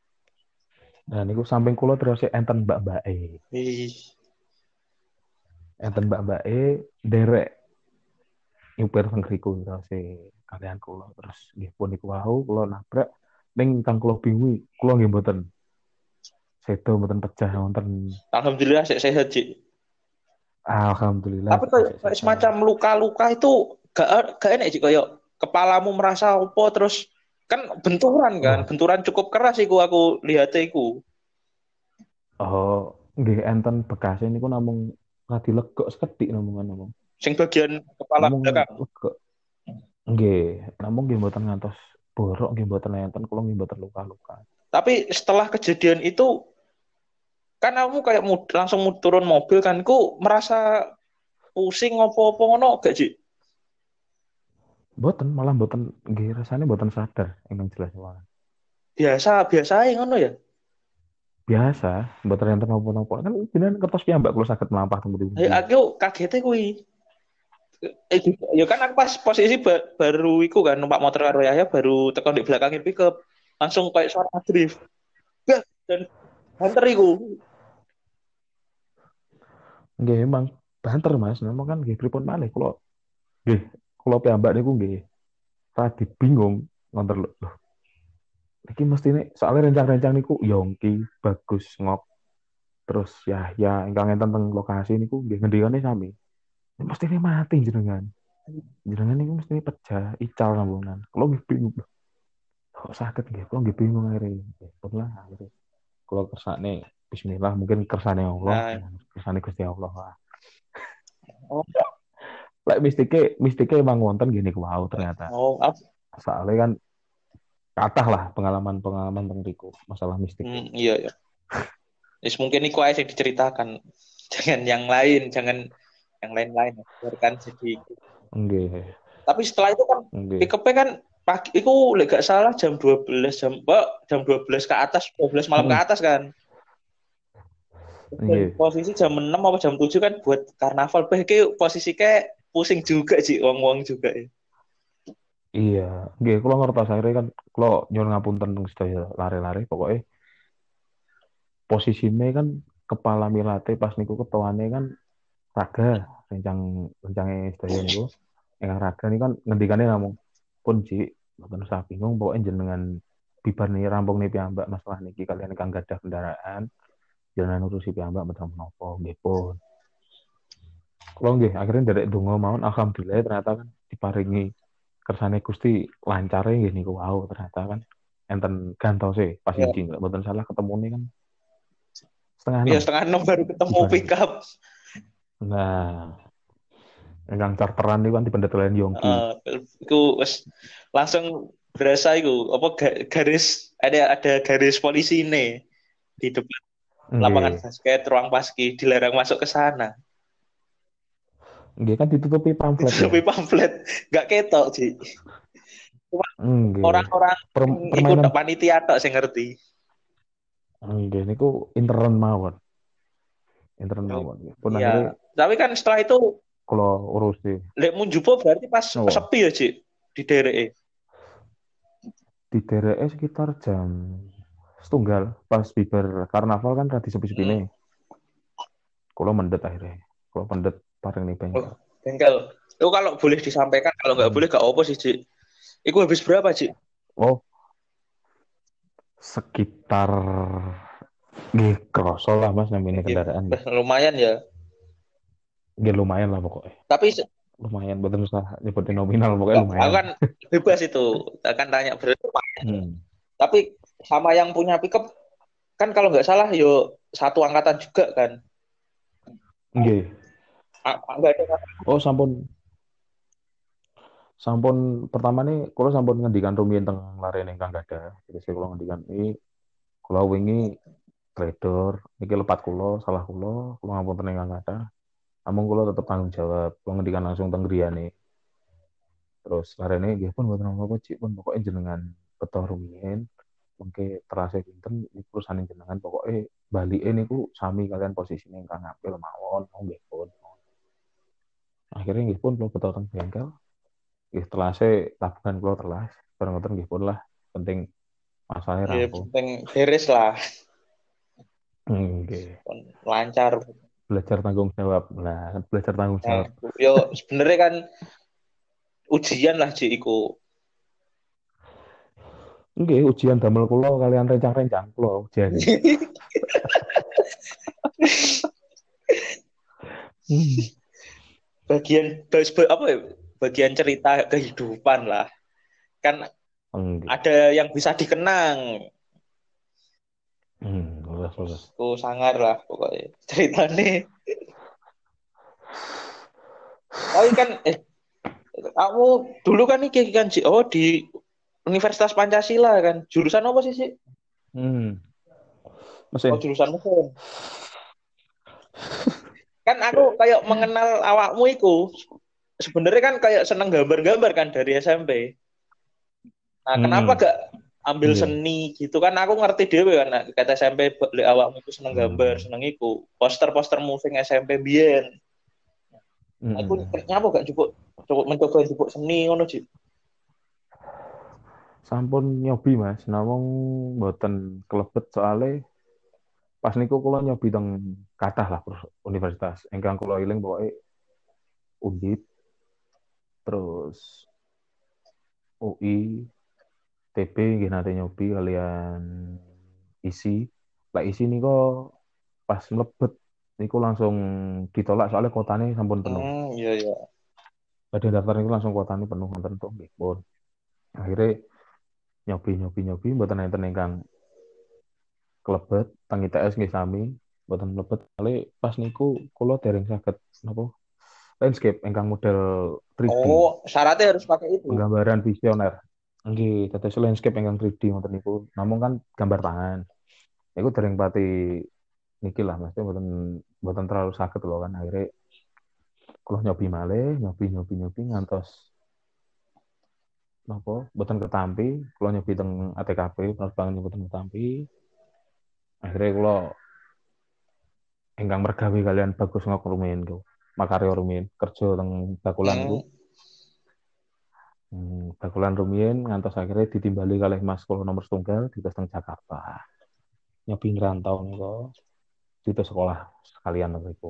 Nah niku samping kula terus enten mbak-mbake. ih. enten mbak-mbake derek nyupir teng ngriku terus kalian kula terus nggih pun iku wau kula nabrak ning kang kula bingung kula nggih mboten sedo mboten pecah wonten. Alhamdulillah sehat, Cik. Alhamdulillah Tapi kayak, masih kayak sehat. semacam luka-luka itu gak enak sih kayak kepalamu merasa apa terus kan Oh, benturan cukup keras aku lihat iku. oh, nggih enten bekasnya niku namung radi legok sekedhik namung Sing bagian kepala namung belakang. legok nggih namung nggih mboten ngantos borok nggih mboten enten kula nggih mboten luka-luka. Tapi setelah kejadian itu kan kamu kayak langsung turun mobil kan, ku merasa pusing apa-apa ngono gak sih? Mboten malah mboten nggih rasane mboten sadar ingkang jelas wae. Biasa biasa aja ngono ya. Biasa mboten enten napa-napa kan jenengan kertas piyambak kula saged mlampah teng pundi-pundi. Aku kagetnya kui. Ya kan aku pas posisi baru iku kan numpak motor karo Yahya baru tekan di belakangin pickup. Langsung kayak suara drift. Gak, dan banter iku. Nggih emang banter Mas, memang kan nggih pripun malih kula nggih kula piyambak niku nggih radi bingung ngonten lho. Loh, iki mestine soalnya rencang-rencang niku Yongki, Bagus, Ngok, terus ya ingkang enten teng lokasi niku nggih ngendikane sami. Ini mestine mati jenengan. Jenengan niku mestine pecah, ical sambungan. Kula nggih bingung. Loh, kok sakit nggih? Kula nggih bingung akhirnya. Nggih, pun lah akhirnya. Kula kersane Bismillah mungkin kersane Allah, Nah, kersane Gusti Allah lah. oh, Lek mistike emang wonten gini wow ternyata. oh, Soalnya kan kathah lah pengalaman-pengalaman teng riku masalah mistik. iya ya. Yes, mungkin iku aja yang diceritakan. Jangan yang lain, jangan yang lain-lain. Biarkan jadi. Nggih, Tapi setelah itu kan nggih, pick-up kan pagi itu lek gak salah jam 12 jam 12 ke atas 12 malam ke heeh, atas kan. Dan nggih. posisi jam 6 apa jam 7 kan buat karnaval. Kayak posisi kayak pusing juga sih wong-wong juga ya. Iya, nggih kula ngertos akhirnya kan kula nyuwun ngapunten teng sedaya lare-lare pokoknya posisinya kan kepala milate pas niku ketuane kan raga rencang rencangnya sedaya niku ingkang raga ini kan ngendikane namung pun Ci mboten usah bingung pokoknya jenengan bibar nih rampung nih piyambak masalah niki kalian ingkang gadah kendaraan jangan urusi piyambak mboten menapa nggih pun kula nggih akhirnya nderek donga mawon alhamdulillah ternyata kan diparingi kersane Gusti lancare nggih niku wau ternyata kan enten gantose pas Ya, iki nggak mboten salah ketemu nih kan setengah ya enam setengah 6 baru ketemu diparingi. pick up. Nah, ingkang charteran niku kan dipendhetelan Yongki. Uh, itu langsung berasa itu apa garis ada garis polisi ini di depan lapangan Nggih. basket ruang paski dilarang masuk ke sana. Nggih kan ditutupi pamflet ya. Ditutupi pamflet nggak ketok sih. Cuma Nggih. orang-orang yang ikut Permainan panitia tok saya ngerti. nggih niku intern mawon. Intern mawon. Nggih. Pun Iya, akhirnya tapi kan setelah itu kula urusi. lek Munjubo berarti pas Napa? sepi ya, Cik, di daerah. Di DRE sekitar jam setunggal pas bibar karnaval kan radi sepi-sepi nih. Hmm. Kula mendet akhirnya. Kula mendet paring nih Oh, bengkel. bengkel. Itu kalau boleh disampaikan, kalau nggak Hmm. boleh gak apa sih, Cik. Itu habis berapa, Cik? Oh, sekitar nggih kroso lah Mas namanya Ya, kendaraan nggih. lumayan ya. Nggih lumayan lah pokoknya. Tapi Lumayan betul usah nyebutin nominal pokoknya enggak, aku lumayan. kan bebas itu. Akan tanya berapa lumayan. Hmm. Tapi sama yang punya pickup kan kalau nggak salah yo satu angkatan juga kan. Nggih. Nggak ada kata. Oh sampun sampun pertama nih kalau sampun ngendikan rumiyin teng larene ingkang gadah. Jadi saya kalau ngendikan ini kalau wingi trader iki lepat kula salah kula ngapunten ingkang gadah. Namun kula tetep tanggung jawab. Kula ngendikan langsung teng griyane. Terus larene nggih pun mboten apa-apa Cik pun pokoke jenengan beto rumiyin mengke terase pinten iki perusahaan jenengan pokoke balike niku sami kalian posisine ingkang ngambil mawon nggih pun. Akhirnya nggih pun kula beto teng bengkel. Nggih telase tabungan kula telas. Bareng ngoten nggih pun lah penting masalahnya Ya rampung. penting beres lah, Nggih. lancar. belajar tanggung jawab. Nah, kan belajar tanggung Nah, jawab. yo sebenarnya kan ujian lah Ci iku. Nggih, ujian damel kula kalian rencang-rencang kula ujian. Hmm. Apa ya? Bagian cerita kehidupan lah. Kan Nggih. ada yang bisa dikenang. Lulus, lulus. Tuh sangar lah pokoknya. Ceritanya. Tapi kan kamu dulu kan nih kan Ci. Oh di Universitas Pancasila kan. Jurusan apa sih sih? Hmm. Oh Mesin. jurusan mesin. Kan aku kayak mengenal awakmu iku. Sebenarnya kan kayak seneng gambar-gambar kan dari SMP. Nah, kenapa Hmm. gak ambil Nggih. seni gitu kan? Aku ngerti dhewe kan, nah, kata SMP awakmu itu seneng gambar, Hmm. seneng iku. Poster-poster moving SMP biyen. Aku Hmm. nyapa gak cukup cukup mencoba cukup seni ngono Ci. Sampun nyobi Mas, namung mboten kelebet soalnya pas niku kula nyobi teng kathah lah universitas. Ingkang kula eling pokoke Undip, terus UI, TB nggih nate nyobi kalian isi. Lah isi niku pas mlebet niku langsung ditolak soalnya kotanya sampun penuh. Iya iya. Badhe daftar niku langsung kotanya penuh wonten tuh nggih pun. Akhirnya nyobi mboten enten ingkang klebet teng ITS nggih sami mboten mlebet kali pas niku kula dereng saged napa landscape ingkang model 3D Oh, syaratnya harus pakai itu. penggambaran visioner nggih dados landscape ingkang 3D ngoten niku namung kan gambar tangan niku dereng pati niki lah mesti mboten mboten terlalu saged loh kan akhirnya kula nyobi malih nyobi ngantos napa mboten ketampi kula nyobi teng ATKP penerbangan mboten ketampi akhirnya kula ingkang mergawe kalian bagus ngok rumiyin ku makarya rumiyin kerja teng bakulan iku Hmm. bakulan rumiyin ngantos akhirnya ditimbali kalih mas kula nomor setunggal di teng Jakarta nyobi ngrantau niku di sekolah sekalian niku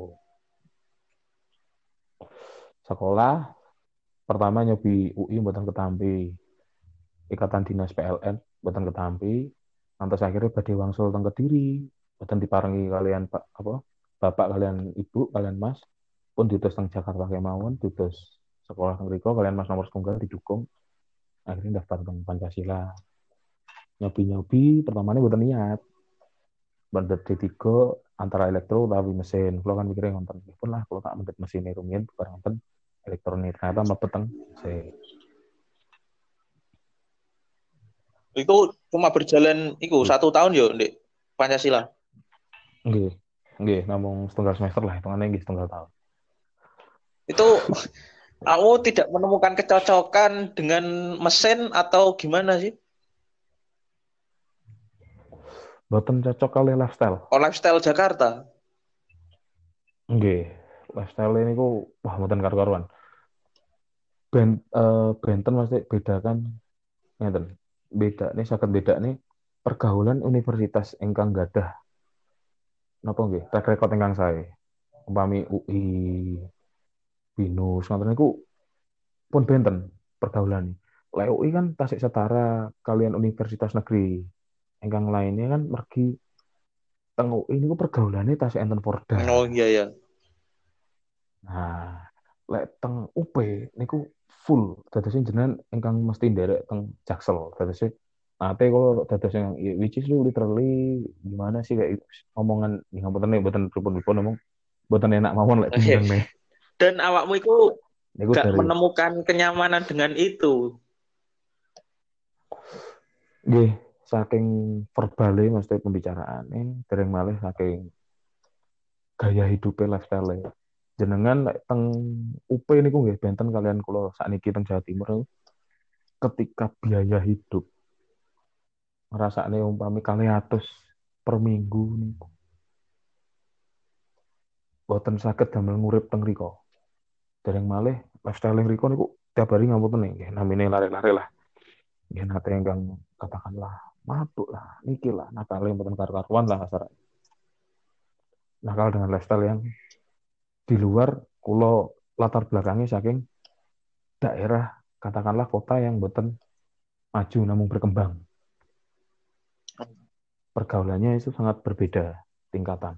sekolah pertama nyobi UI mboten ketampi ikatan dinas PLN mboten ketampi ngantos akhirnya badhe wangsul teng Kediri mboten diparengi kalian Pak apa bapak kalian ibu kalian mas pun diutus teng Jakarta kemawon diutus sekolah teng mriku kalian mas nomor setunggal didukung akhirnya daftar teng Pancasila nyobi pertamanya bukan niat bandet D3 antara elektro tapi mesin kalau kan mikirnya ngonten pun lah kalau tak mendet mesin rumiyin bukan ngonten elektronik ternyata mepet teng mesin Itu cuma berjalan itu gitu. 1 tahun yo, Ndek. Pancasila. Nggih nggih namung setengah semester lah hitungannya nggih setengah tahun Itu aku tidak menemukan kecocokan dengan mesin atau gimana sih? boten cocok kali lifestyle Oh, lifestyle Jakarta. nggih lifestyle ini ku wah boten karu-karuan benten mesti bedakan ngeten beda nih saged beda nih pergaulan universitas ingkang gadah napa nggih track record ingkang sae umpami UI BINUS ngoten niku pun benten pergaulan lek UI kan tasik setara kalian universitas negeri ingkang lainnya kan mergi teng UI niku pergaulannya tasik enten Porda Oh iya ya. nah lek teng UP niku full dadosnya jenengan ingkang mesti nderek teng Jaksel dadosnya ate kalau dados yang which is lu literally gimana sih kayak omongan ya ngapunten nih mboten pripun-pripun ngomong mboten enak mawon lek Oke. diundang nih Dan awakmu itu niku gak dari menemukan kenyamanan dengan itu. nggih saking verbale mesti pembicaraane dereng malih saking gaya hidupnya lifestyle jenengan lek teng UP niku nggih benten kalian kula sakniki teng Jawa Timur ketika biaya hidup ngrasakne umpami 200 per minggu niku boten saged damel ngurip teng riko. Dereng malih lifestyle riko niku tiap hari ngapunten nggih namine lare-lare lah. Nggih nate ingkang katakanlah mabuk lah, niki lah nakal yang boten karu-karuan lah asar. Nakal dengan lifestyle yang di luar kulo latar belakangnya saking daerah katakanlah kota yang boten maju namun berkembang. Pergaulannya itu sangat berbeda tingkatan.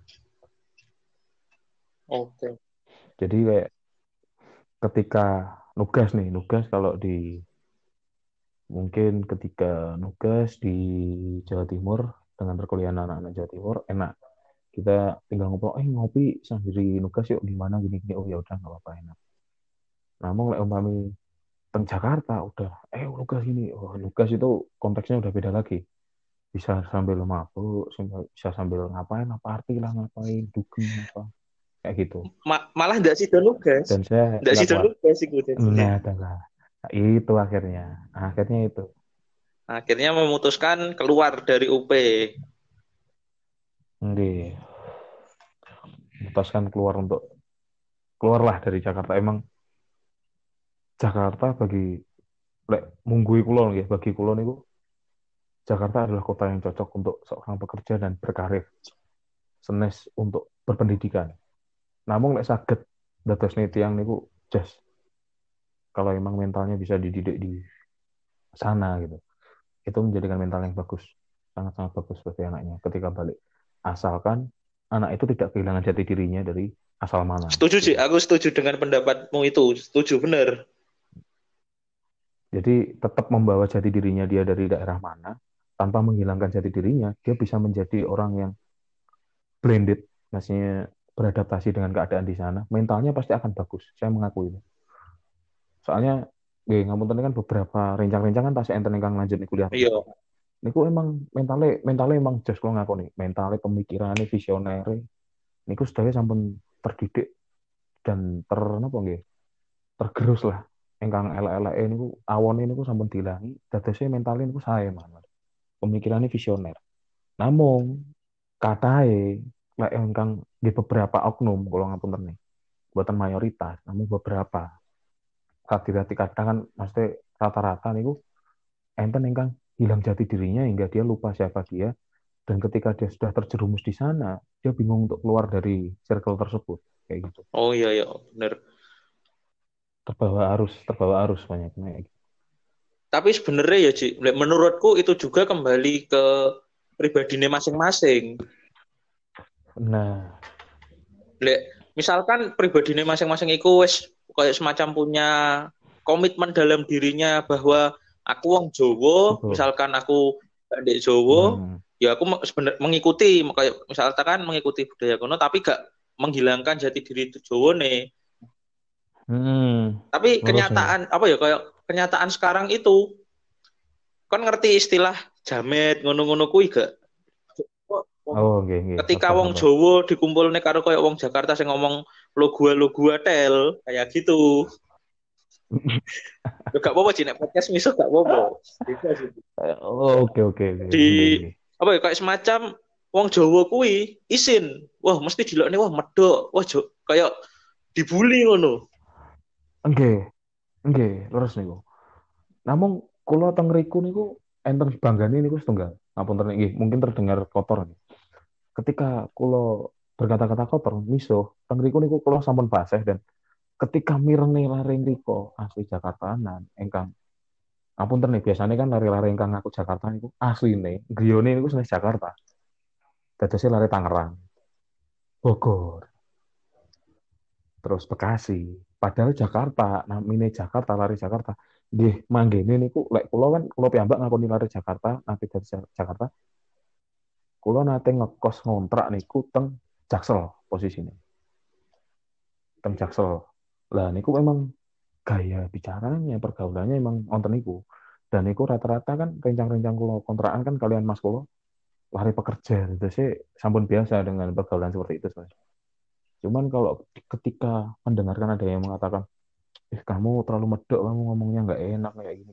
Oke. Jadi kayak ketika nugas nih, nugas kalau di mungkin ketika nugas di Jawa Timur dengan perkuliahan anak-anak Jawa Timur enak. Kita tinggal ngobrol, ngopi sambil nugas yuk di mana gini-gini. Oh ya udah nggak apa-apa enak. Namun lek umpami teng Jakarta udah nugas gini. Oh, nugas itu konteksnya udah beda lagi. Bisa sambil mabuk, bisa sambil ngapain, party lah ngapain, dugem apa kayak gitu. Malah nggak sih nugas. Dan saya Nggak sih nggak kuat. nugas sih gue jadinya. Nah, adalah itu akhirnya itu. Akhirnya memutuskan keluar dari UP. Nggih, memutuskan keluarlah dari Jakarta. Emang Jakarta bagi lek munggui kulon ya, bagi kulon itu Jakarta adalah kota yang cocok untuk seorang pekerja dan berkarir, senes untuk berpendidikan. Namun lek saged dados tiang niku just kalau emang mentalnya bisa dididik di sana gitu. Itu menjadikan mental yang bagus, sangat-sangat bagus bagi anaknya ketika balik. Asalkan anak itu tidak kehilangan jati dirinya dari asal mana Setuju sih, gitu. aku setuju dengan pendapatmu itu. Setuju bener. Jadi tetap membawa jati dirinya dia dari daerah mana, tanpa menghilangkan jati dirinya, dia bisa menjadi orang yang blended, maksudnya beradaptasi dengan keadaan di sana, mentalnya pasti akan bagus. Saya mengakui itu. Soalnya, ngapunten kan beberapa rencang-rencang kan tasih enten ingkang lanjut nih kuliah Iya. teknik. Niku emang mentalnya emang jos kalau ngakoni. Mentalnya pemikirannya visioner. Niku sedaya sampun terdidik dan napa nggih? Tergerus lah. Engkang elek-elek niku awone niku sampun dilangi, dadosnya mentalnya niku sae mawon. Pemikirannya visioner. Namun katahe lek engkang di beberapa oknum kalau ngapunten nih, buatan mayoritas, namun beberapa. Hati-hati kadang kan mesti rata-rata niku enten engkang hilang jati dirinya hingga dia lupa siapa dia dan ketika dia sudah terjerumus di sana, dia bingung untuk keluar dari circle tersebut kayak gitu. Oh iya ya, bener. Terbawa arus banyak kayak gitu. Tapi sebenarnya ya, Ci, menurutku itu juga kembali ke pribadinya masing-masing. Nah, Lek, misalkan pribadinya masing-masing itu wis kayak semacam punya komitmen dalam dirinya bahwa aku wong Jowo, betul. misalkan aku ndek Jowo, Hmm. ya aku sebenarnya mengikuti kayak misalkan mengikuti budaya kuno tapi gak menghilangkan jati diri Jowo nih. Hmm. Tapi Lurus nih. kenyataan apa ya kayak kenyataan sekarang itu kan ngerti istilah jamet ngono-ngono kuwi gak? Oh, oke, oke. Ketika Apa, wong apa? Jawa dikumpul nih karo kayak wong Jakarta sing ngomong lo gua tel kayak gitu. Lo gak apa-apa sih nek podcast miso gak apa-apa. Bisa sih. Oh, oke, oke, oke. Oke, Di oke. apa ya kayak semacam wong Jawa kuwi isin. Wah, mesti dilokne wah medok. Wah, kayak dibully ngono. Oke, oke. Lurus nih. Namun, kalau teng riku niku enten banggane niku setunggal. Ngapunten nggih, mungkin terdengar kotor nih. Ketika kulo berkata-kata kotor, miso, teng riku niku kulo sampun fasih dan ketika mireng laring riko asli Jakartaan, engkang ngapunten nih biasanya kan lari-lari engkang aku Jakarta niku asli nih, griyone niku sanes Jakarta. Dadosnya lari Tangerang, Bogor, terus Bekasi. Padahal Jakarta, namine Jakarta, lari Jakarta. Nggih, manggene niku lek kula kan kula piyambak ngakoni lari Jakarta, nanti dari Jakarta, kula nate ngekos ngontrak niku teng Jaksel posisinya. Teng Jaksel. Lah niku memang gaya bicaranya, pergaulannya emang wonten niku. Dan niku rata-rata kan rencang-rencang kula kontrakan kan kalian Mas kula lari pekerja itu sih sampun biasa dengan pergaulan seperti itu Mas. Cuman kalau ketika mendengarkan ada yang mengatakan, kamu terlalu medok, kamu ngomongnya nggak enak kayak gini.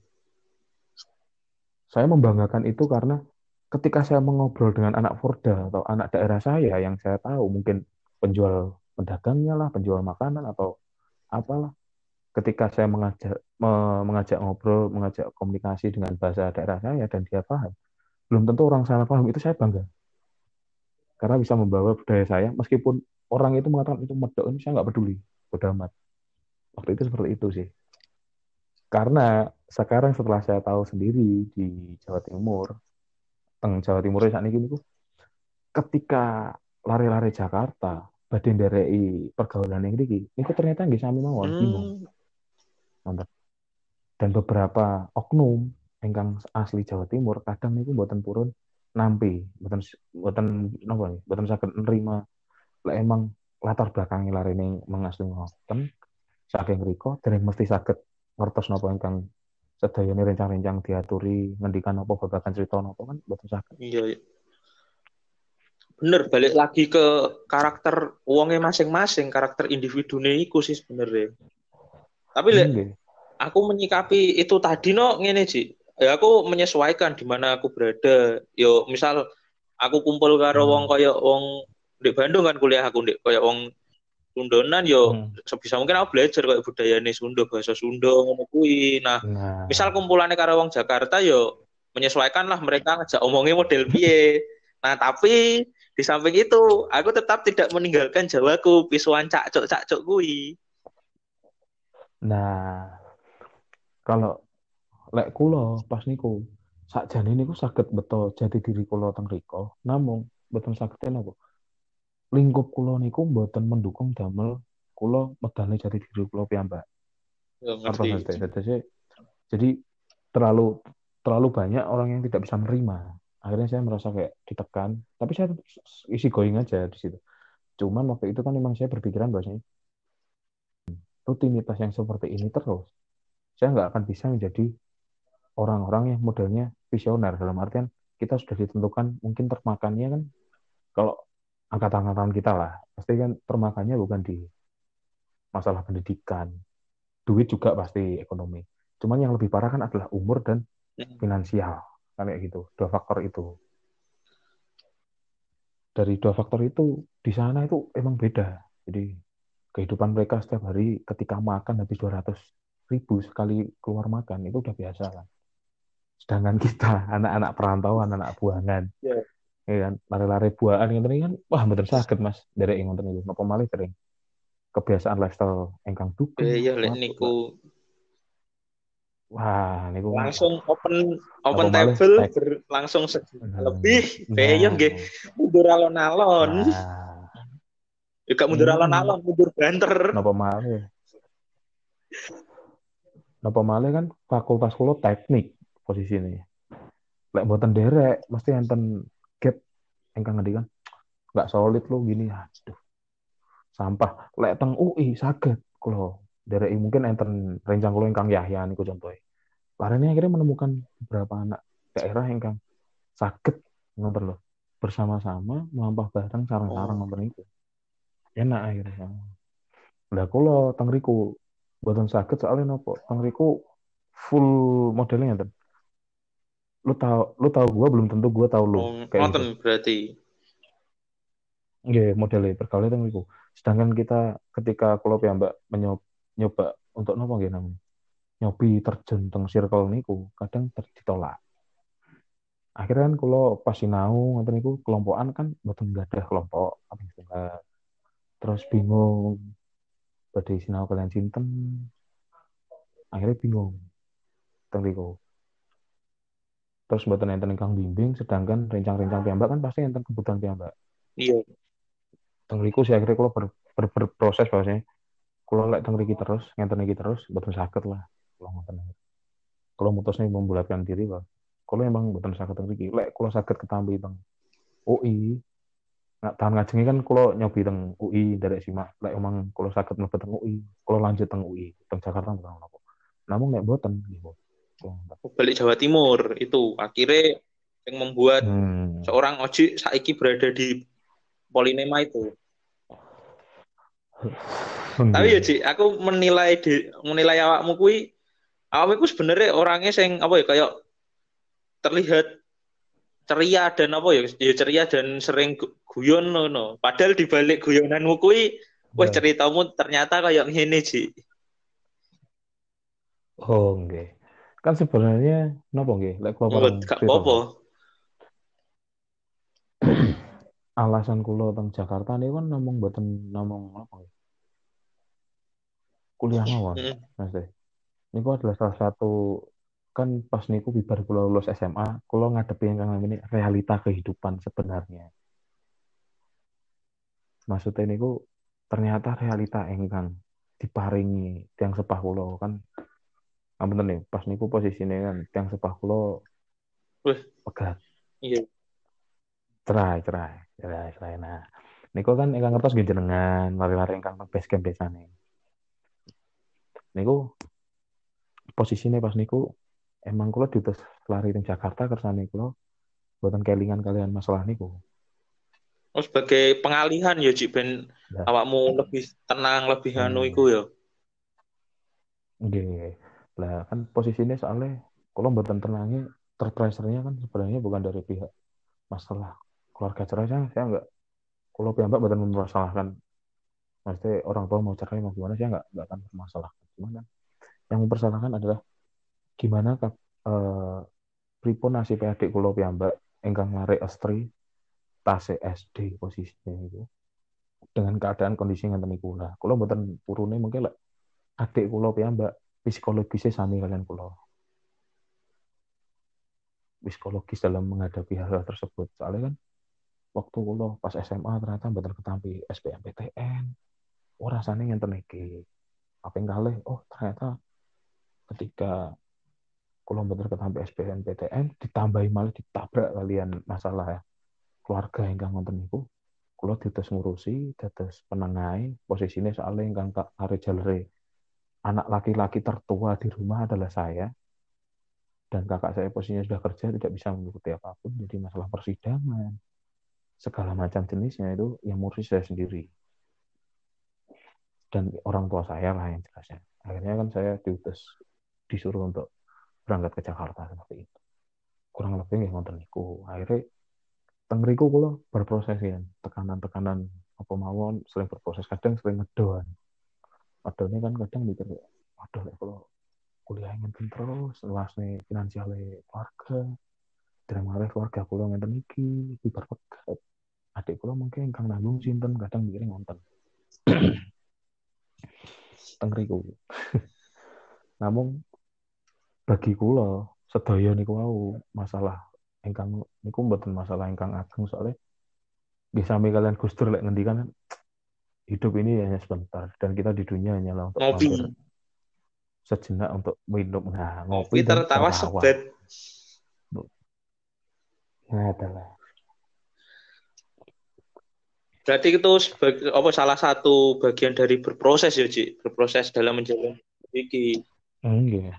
Saya membanggakan itu karena ketika saya mengobrol dengan anak Forda atau anak daerah saya yang saya tahu mungkin penjual pedagangnya lah, penjual makanan atau apalah. Ketika saya mengajak ngobrol, mengajak komunikasi dengan bahasa daerah saya dan dia paham, belum tentu orang sana paham itu saya bangga karena bisa membawa budaya saya meskipun orang itu mengatakan itu medok, ini saya nggak peduli, bodo amat. Waktu itu seperti itu sih. Karena sekarang setelah saya tahu sendiri di Jawa Timur, teng Jawa Timur saat ini ketika lari-lari Jakarta, badhe ndereki pergaulan yang niku ternyata nggih sami mawon, bingung. Hmm, Nonton. Dan beberapa oknum ingkang asli Jawa Timur kadang niku mboten purun nampi, mboten mboten napa nggih, mboten saged nerima lek emang latar belakang larine mengasli ngoten saking mriko dereng mesti saged ngertos napa ingkang sedayane rencang-rencang diaturi ngendikan apa babagan cerita napa kan mboten saged. iya, iya. Bener, balik lagi ke karakter uangnya masing-masing, karakter individunya iku sih sebenarnya. Tapi lek Nggih. aku menyikapi itu tadi no ngene Ji. Ya aku menyesuaikan di mana aku berada. Yo misal aku kumpul karo wong Hmm. kaya wong di Bandung kan kuliah aku di kaya wong Sundonan yo Hmm. sebisa mungkin aku belajar kayak budayane Sunda, bahasa Sunda ngono kuwi. Nah, misal Nah, kumpulannya karo wong Jakarta yo menyesuaikan lah mereka ngajak omongnya model piye. Nah, tapi di samping itu aku tetap tidak meninggalkan Jawaku, pisuan cakcuk-cakcuk kuwi. nah, kalau lek kula pas niku sakjane niku saged beto jati diri kula teng riko, namung mboten saged napa lingkup kula niku mboten mendukung damel kula medale jati diri kula piyambak. Yo Ngertos ngerti. Mas Teh? Jadi terlalu terlalu banyak orang yang tidak bisa menerima. Akhirnya saya merasa kayak ditekan, tapi saya tetap isi going aja di situ. Cuman waktu itu kan memang saya berpikiran bahwasanya rutinitas yang seperti ini terus, saya nggak akan bisa menjadi orang-orang yang modelnya visioner dalam artian kita sudah ditentukan mungkin termakannya kan kalau angkatan-angkatan kita lah pasti kan termakannya bukan di masalah pendidikan, duit juga pasti ekonomi. Cuman yang lebih parah kan adalah umur dan finansial, kan kayak gitu. Dua faktor itu. Dari dua faktor itu di sana itu emang beda. Jadi kehidupan mereka setiap hari ketika makan habis 200.000 sekali keluar makan itu udah biasa kan. Sedangkan kita anak-anak perantauan, anak buangan, Ya. ya kan, lari-lari buahan ngoten iki kan wah mboten saged Mas derek ngoten niku. Napa malih dereng kebiasaan lifestyle engkang dugem Ya lek suatu niku wah niku kan langsung waduh open napa open malih table tek berlangsung sejuta lebih. Peyem nggih nah mundur alon-alon. nah Juga mundur mm, alon-alon, mundur banter. napa malih napa malih kan fakultas kula teknik posisine lek mboten derek mesti enten gap engkang ngendikan nggak solid lo gini aduh sampah lek teng UI saged kula derek mungkin enten rencang kula ingkang Yahya niku contohnya Larene akhirnya menemukan beberapa anak daerah yang kan sakit ngoten loh bersama-sama melampah bareng sarang-sarang Oh, ngoten itu enak akhirnya lah kula teng riku mboten saged soalnya nopo teng riku full modelnya ngeten lu tahu gua belum tentu gua tahu lu oh, kayak gitu ngoten berarti. nggih modelnya perkawis teng riku sedangkan kita ketika kula piyambak nyoba untuk nopo nggih namanya nyobi terjun teng circle niku kadang ditolak akhirnya kan kalau pas sinau ngoten niku kelompokan kan mboten ada kelompok apa setunggal terus bingung badhe sinau kalian sinten akhirnya bingung teng riku terus mboten enten ingkang bimbing sedangkan rencang-rencang piyambak kan pasti enten kebutuhan piyambak Iya. teng riku sih akhirnya kalau berproses bahwasanya kalau lek teng riki terus ngenten iki terus mboten saged lah kalau ngoten kalau mutusnya membulatkan diri bahwa kalau emang mboten saged teng riki lek kalau saged ketampi teng UI nggak tahun ngajengi kan kalau nyobi teng UI dari simak lek emang kalau sakit mlebet teng UI kalau lanjut teng UI teng Jakarta bukan apa namun nek boten gitu. Balik Jawa Timur itu akhirnya yang membuat Hmm. seorang Oji saiki berada di Polinema itu. Tapi ya Nggih. Ci, aku menilai awakmu kui, awakmu ku sebenarnya orangnya sing apa ya kayak terlihat ceria dan apa ya, ya ceria dan sering guyon no. Padahal di balik guyonanmu kui, wah Ya. ceritamu ternyata kayak ngene Ci. Oh nggih. Kan sebenarnya napa nggih lek kula pareng Gak cerita apa-apa. alasan kula teng Jakarta niku kan namung mboten namung apa ya, kuliah mawon, Heeh. Mas Teh. Niku adalah salah satu kan pas niku bibar kula lulus SMA, kula ngadepi ingkang namanya realita kehidupan sebenarnya. Maksudnya niku ternyata realita ingkang diparingi tiang sepah kula kan ampun nih, pas niku posisinya kan tiang sepah kula Wih, pegat, iya. cerai, cerai, cerai, cerai. Nah, niku kan ingkang ngertos nggih jenengan, lari-lari ingkang teng base camp desane. Niku posisinya pas niku emang kula diutus lari di Jakarta kersane kula buatan kelingan kalian masalah niku. Oh, sebagai pengalihan ya Cik ben Lah, awakmu lebih tenang, lebih anu iku eh, ya. nggih. Lah kan posisinya soalnya kula mboten tenangnya terpresernya kan sebenarnya bukan dari pihak masalah keluarga cerai saya enggak kalau pihak mboten mempermasalahkan maksudnya orang tua mau cerai mau gimana saya enggak akan mempermasalahkan. Cuman kan yang mempersalahkan adalah gimana pripun nasib adik kula piyambak ingkang lare estri tase SD posisinya itu dengan keadaan kondisi ngeten niku lah. Kula mboten purune mungkin lek adik kula piyambak psikologisnya sami kalian kula. Psikologis dalam menghadapi hal-hal tersebut. Soalnya kan waktu kula pas SMA ternyata mboten ketampi SBMPTN. Oh rasanya ngenten iki. Apa yang kalih? Oh ternyata ketika kula mboten ketampi SBMPTN ditambahi malah ditabrak kalian masalah ya. Keluarga ingkang wonten niku kula diutus ngurusi dados penengai posisinya soalnya ingkang kare jalere anak laki-laki tertua di rumah adalah saya dan kakak saya posisinya sudah kerja tidak bisa mengikuti apapun jadi masalah persidangan segala macam jenisnya itu yang ngurusi saya sendiri dan orang tua saya lah yang jelasnya akhirnya kan saya diutus disuruh untuk berangkat ke Jakarta seperti itu kurang lebih nggih ngoten niku akhirnya tengriku kula berproses ya tekanan-tekanan apa mawon sering berproses kadang sering ngedon ngedonnya kan kadang mikir waduh kalau kuliah ngenten terus luas nih finansialnya keluarga dan malah keluarga kula ngenten iki berpegat adik kula mungkin kang nanggung sinten kadang mikirnya ngonten tengriku namun bagi kula sedaya niku wau masalah ingkang niku mboten masalah ingkang ageng soalnya bisa sami kalian Gus Dur lek ngendikan hidup ini hanya sebentar dan kita di dunia hanyalah untuk mampir Ngopi. sejenak untuk minum nah Ngopi ngopi dan tertawa tertawa sebat. nah adalah Berarti itu sebagai apa salah satu bagian dari berproses ya, Cik. Berproses dalam menjalani iki. enggak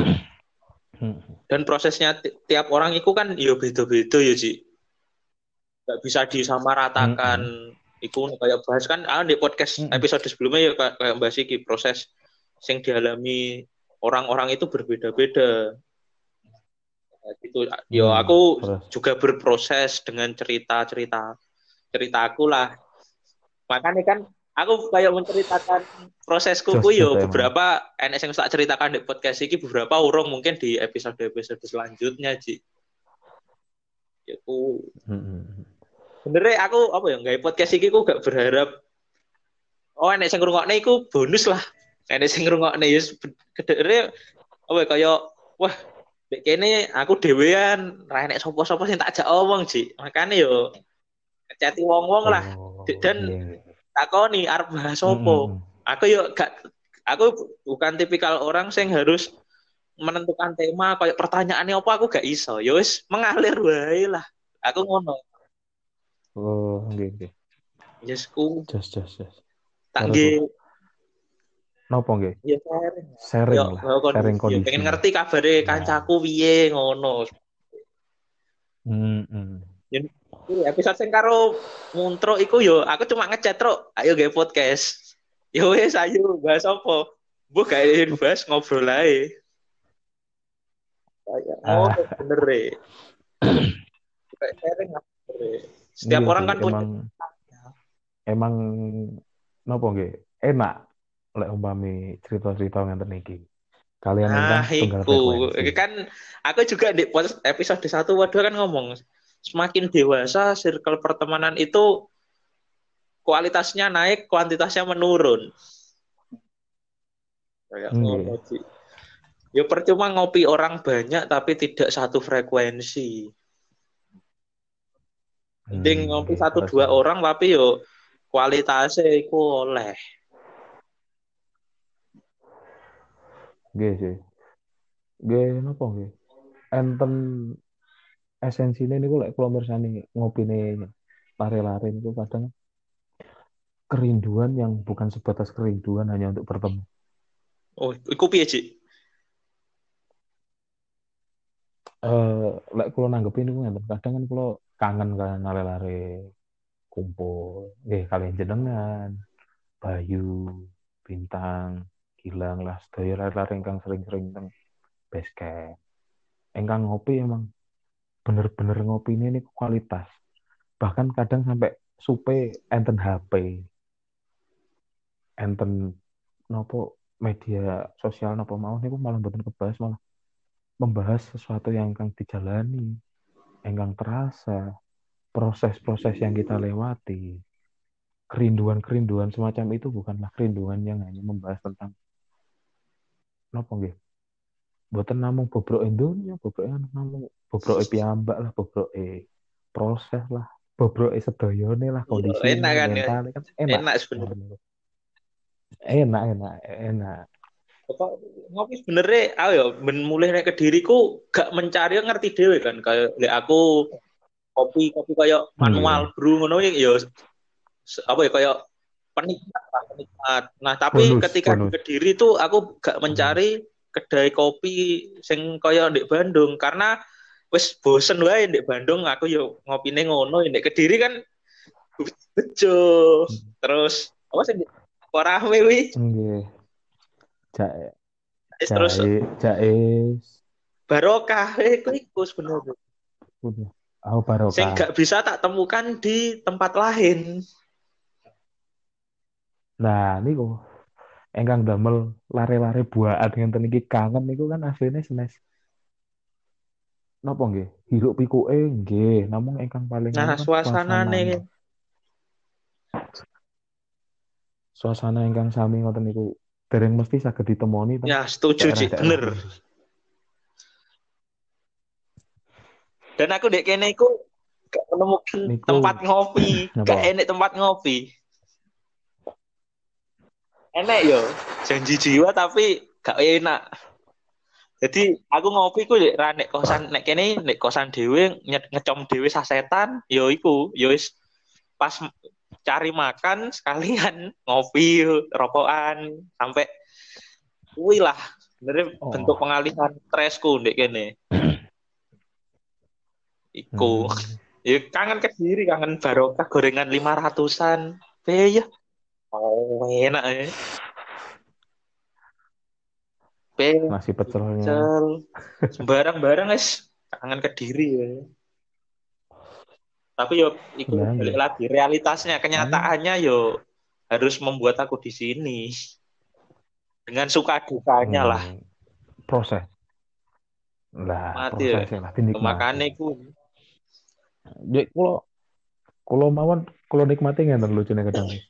Dan prosesnya tiap orang itu kan ya beda-beda ya, Cik. Gak bisa disamaratakan. Iku kayak bahas kan di podcast episode sebelumnya ya kayak bahas iki proses yang dialami orang-orang itu berbeda-beda. Gitu. Yo aku terus juga berproses dengan cerita aku lah. Makanya kan aku kayak menceritakan prosesku ku jos jos yo emang beberapa enek sing tak ceritakan di podcast ini beberapa urung mungkin di episode-episode selanjutnya Ji. Ya ku sebenarnya aku apa ya nggak podcast ini ku gak berharap oh enek sing ngrungokne iku bonus lah. Enek sing ngrungokne ya kedere apa ya kayak wah dek kene aku dhewean ra enek sapa-sapa sing tak ajak omong Ji. Makanya yo chatting wong-wong lah oh dan iya iya takoni arep bahas opo. Aku yo gak aku bukan tipikal orang sing harus menentukan tema kayak pertanyaannya apa aku gak iso. Ya wis mengalir wae lah. Aku ngono. oh iya iya Yes ku jos tak terus nggih lah nopo nggih ya sharing. sharing Yo lah sharing kondisi ya pengen kondisi ngerti kabare nah kancaku piye ngono. hmm, hmm. Jadi episode sing karo Muntro iku yo aku cuma ngechat Tro, ayo gawe podcast. Yo wis ayo bahas apa? Bu gak bahas ngobrol ae. Kayak ngono ah bener e. Kayak sharing lah bener e. Setiap iya orang sih kan punya emang emang nopo nggih enak lek umpami cerita-cerita ngenten iki kalian nah ingkang setunggal iku frekuensi kan aku juga di episode 1 waduh kan ngomong semakin dewasa circle pertemanan itu kualitasnya naik, kuantitasnya menurun. Kayak ngono Nggih. sih. Ya percuma ngopi orang banyak tapi tidak satu frekuensi. Mending ngopi Nggih, satu terus dua terus. orang tapi yo kualitasnya iku oleh. Nggih sih. Nggih napa nggih? Enten esensine niku lek kula mirsani ngopine lare-lare niku kadang kerinduan yang bukan sebatas kerinduan hanya untuk bertemu. Oh, iku piye, Cik? Lek kula nanggepin niku ngeten, kadang kan kula kangen kan lare-lare kumpul. Nggih kalian jenengan, Bayu, Bintang, Gilang lah sedaya lare-lare ingkang sering-sering teng base camp. Ingkang ngopi emang bener-bener ngopine niku kualitas. Bahkan kadang sampai supe enten HP, enten nopo media sosial nopo mau niku malah mboten kebahas, malah membahas sesuatu yang ingkang dijalani, ingkang terasa, proses-proses yang kita lewati. Kerinduan-kerinduan semacam itu bukanlah kerinduan yang hanya membahas tentang nopo nggih. Mboten namung bobroke donya, bobroke namung bobroke piyambak lah, bobroke proses lah, bobroke sedayane lah, Iya, kondisi enak ini kan ya. mental kan enak. Enak sebenarnya. Ngoten niku. Enak, enak, enak. Kok ngopi sebenarnya aku ya ben mulai nek Kediriku gak mencari ngerti dhewe kan kayak lek aku kopi kopi kayak manual Nggih. brew ngono ya apa ya kayak penikmat lah, penikmat. Nah, tapi Bonus, ketika di bonus. Kediri tuh aku gak Hmm. mencari kedai kopi sing kaya di Bandung karena wis bosen wae di Bandung aku yo ngopine ngono di Kediri kan bejo. Terus apa sih kok rame wi? Nggih. Jae, Terus jae, jae. barokah iku sebenarnya. Udah. Oh, Sing barokah. gak bisa tak temukan di tempat lain. Nah, niku engkang damel lare-lare buahan ngenten iki kangen niku kan asline senes napa nggih? Hiruk pikuke nggih, namung ingkang paling anu Nah, kan suasana suasanane. nih. Suasana ingkang sami ngoten niku dereng mesti saged ditemoni teng Ya, setuju Cik, daerah-daerah bener. pundi. Dan aku dek kene iku gak menemukan Niku tempat ngopi, napa? gak enek tempat ngopi. Enek yo, janji jiwa tapi gak enak. Jadi aku ngopi ku dek ra nek kosan nek kene nek kosan dhewe ngecom dhewe sasetan, yo iku, yo wis pas cari makan sekalian ngopi, rokokan sampai kuwi lah sebenarnya bentuk Oh. pengalihan stresku dek kene. Iku. Hmm. Ya kangen Kediri, kangen barokah gorengan 500-an. Be ya. Oh, enak ya. Be, Nasi pecelnya. pecel. Sembarang-barang guys. Kangen Kediri ya. Tapi yo itu Lah balik nggih. lagi realitasnya, Paling kenyataannya yo harus membuat aku di sini dengan suka dukanya lah. hmm, proses. Lah, Mati ya. prosesnya lah dinikmati. Makanya ku Jadi kalau mawon kalau nikmati ngeten lucune kadang nih.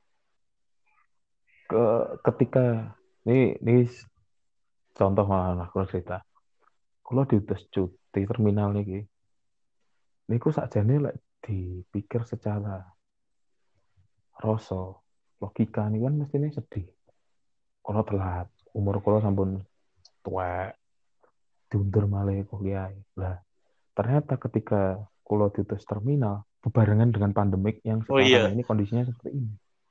Ke ketika ini contoh malah kalau cerita. Kalau diutus cuti terminal niki, niku sakjane lek dipikir secara rasa logika nih kan mestinya sedih. Kalau telat, umur kalau sampun tua, diundur malah kuliah. Lah, ternyata ketika kalau diutus terminal, bebarengan dengan pandemik yang oh sekarang iya. ini kondisinya seperti ini.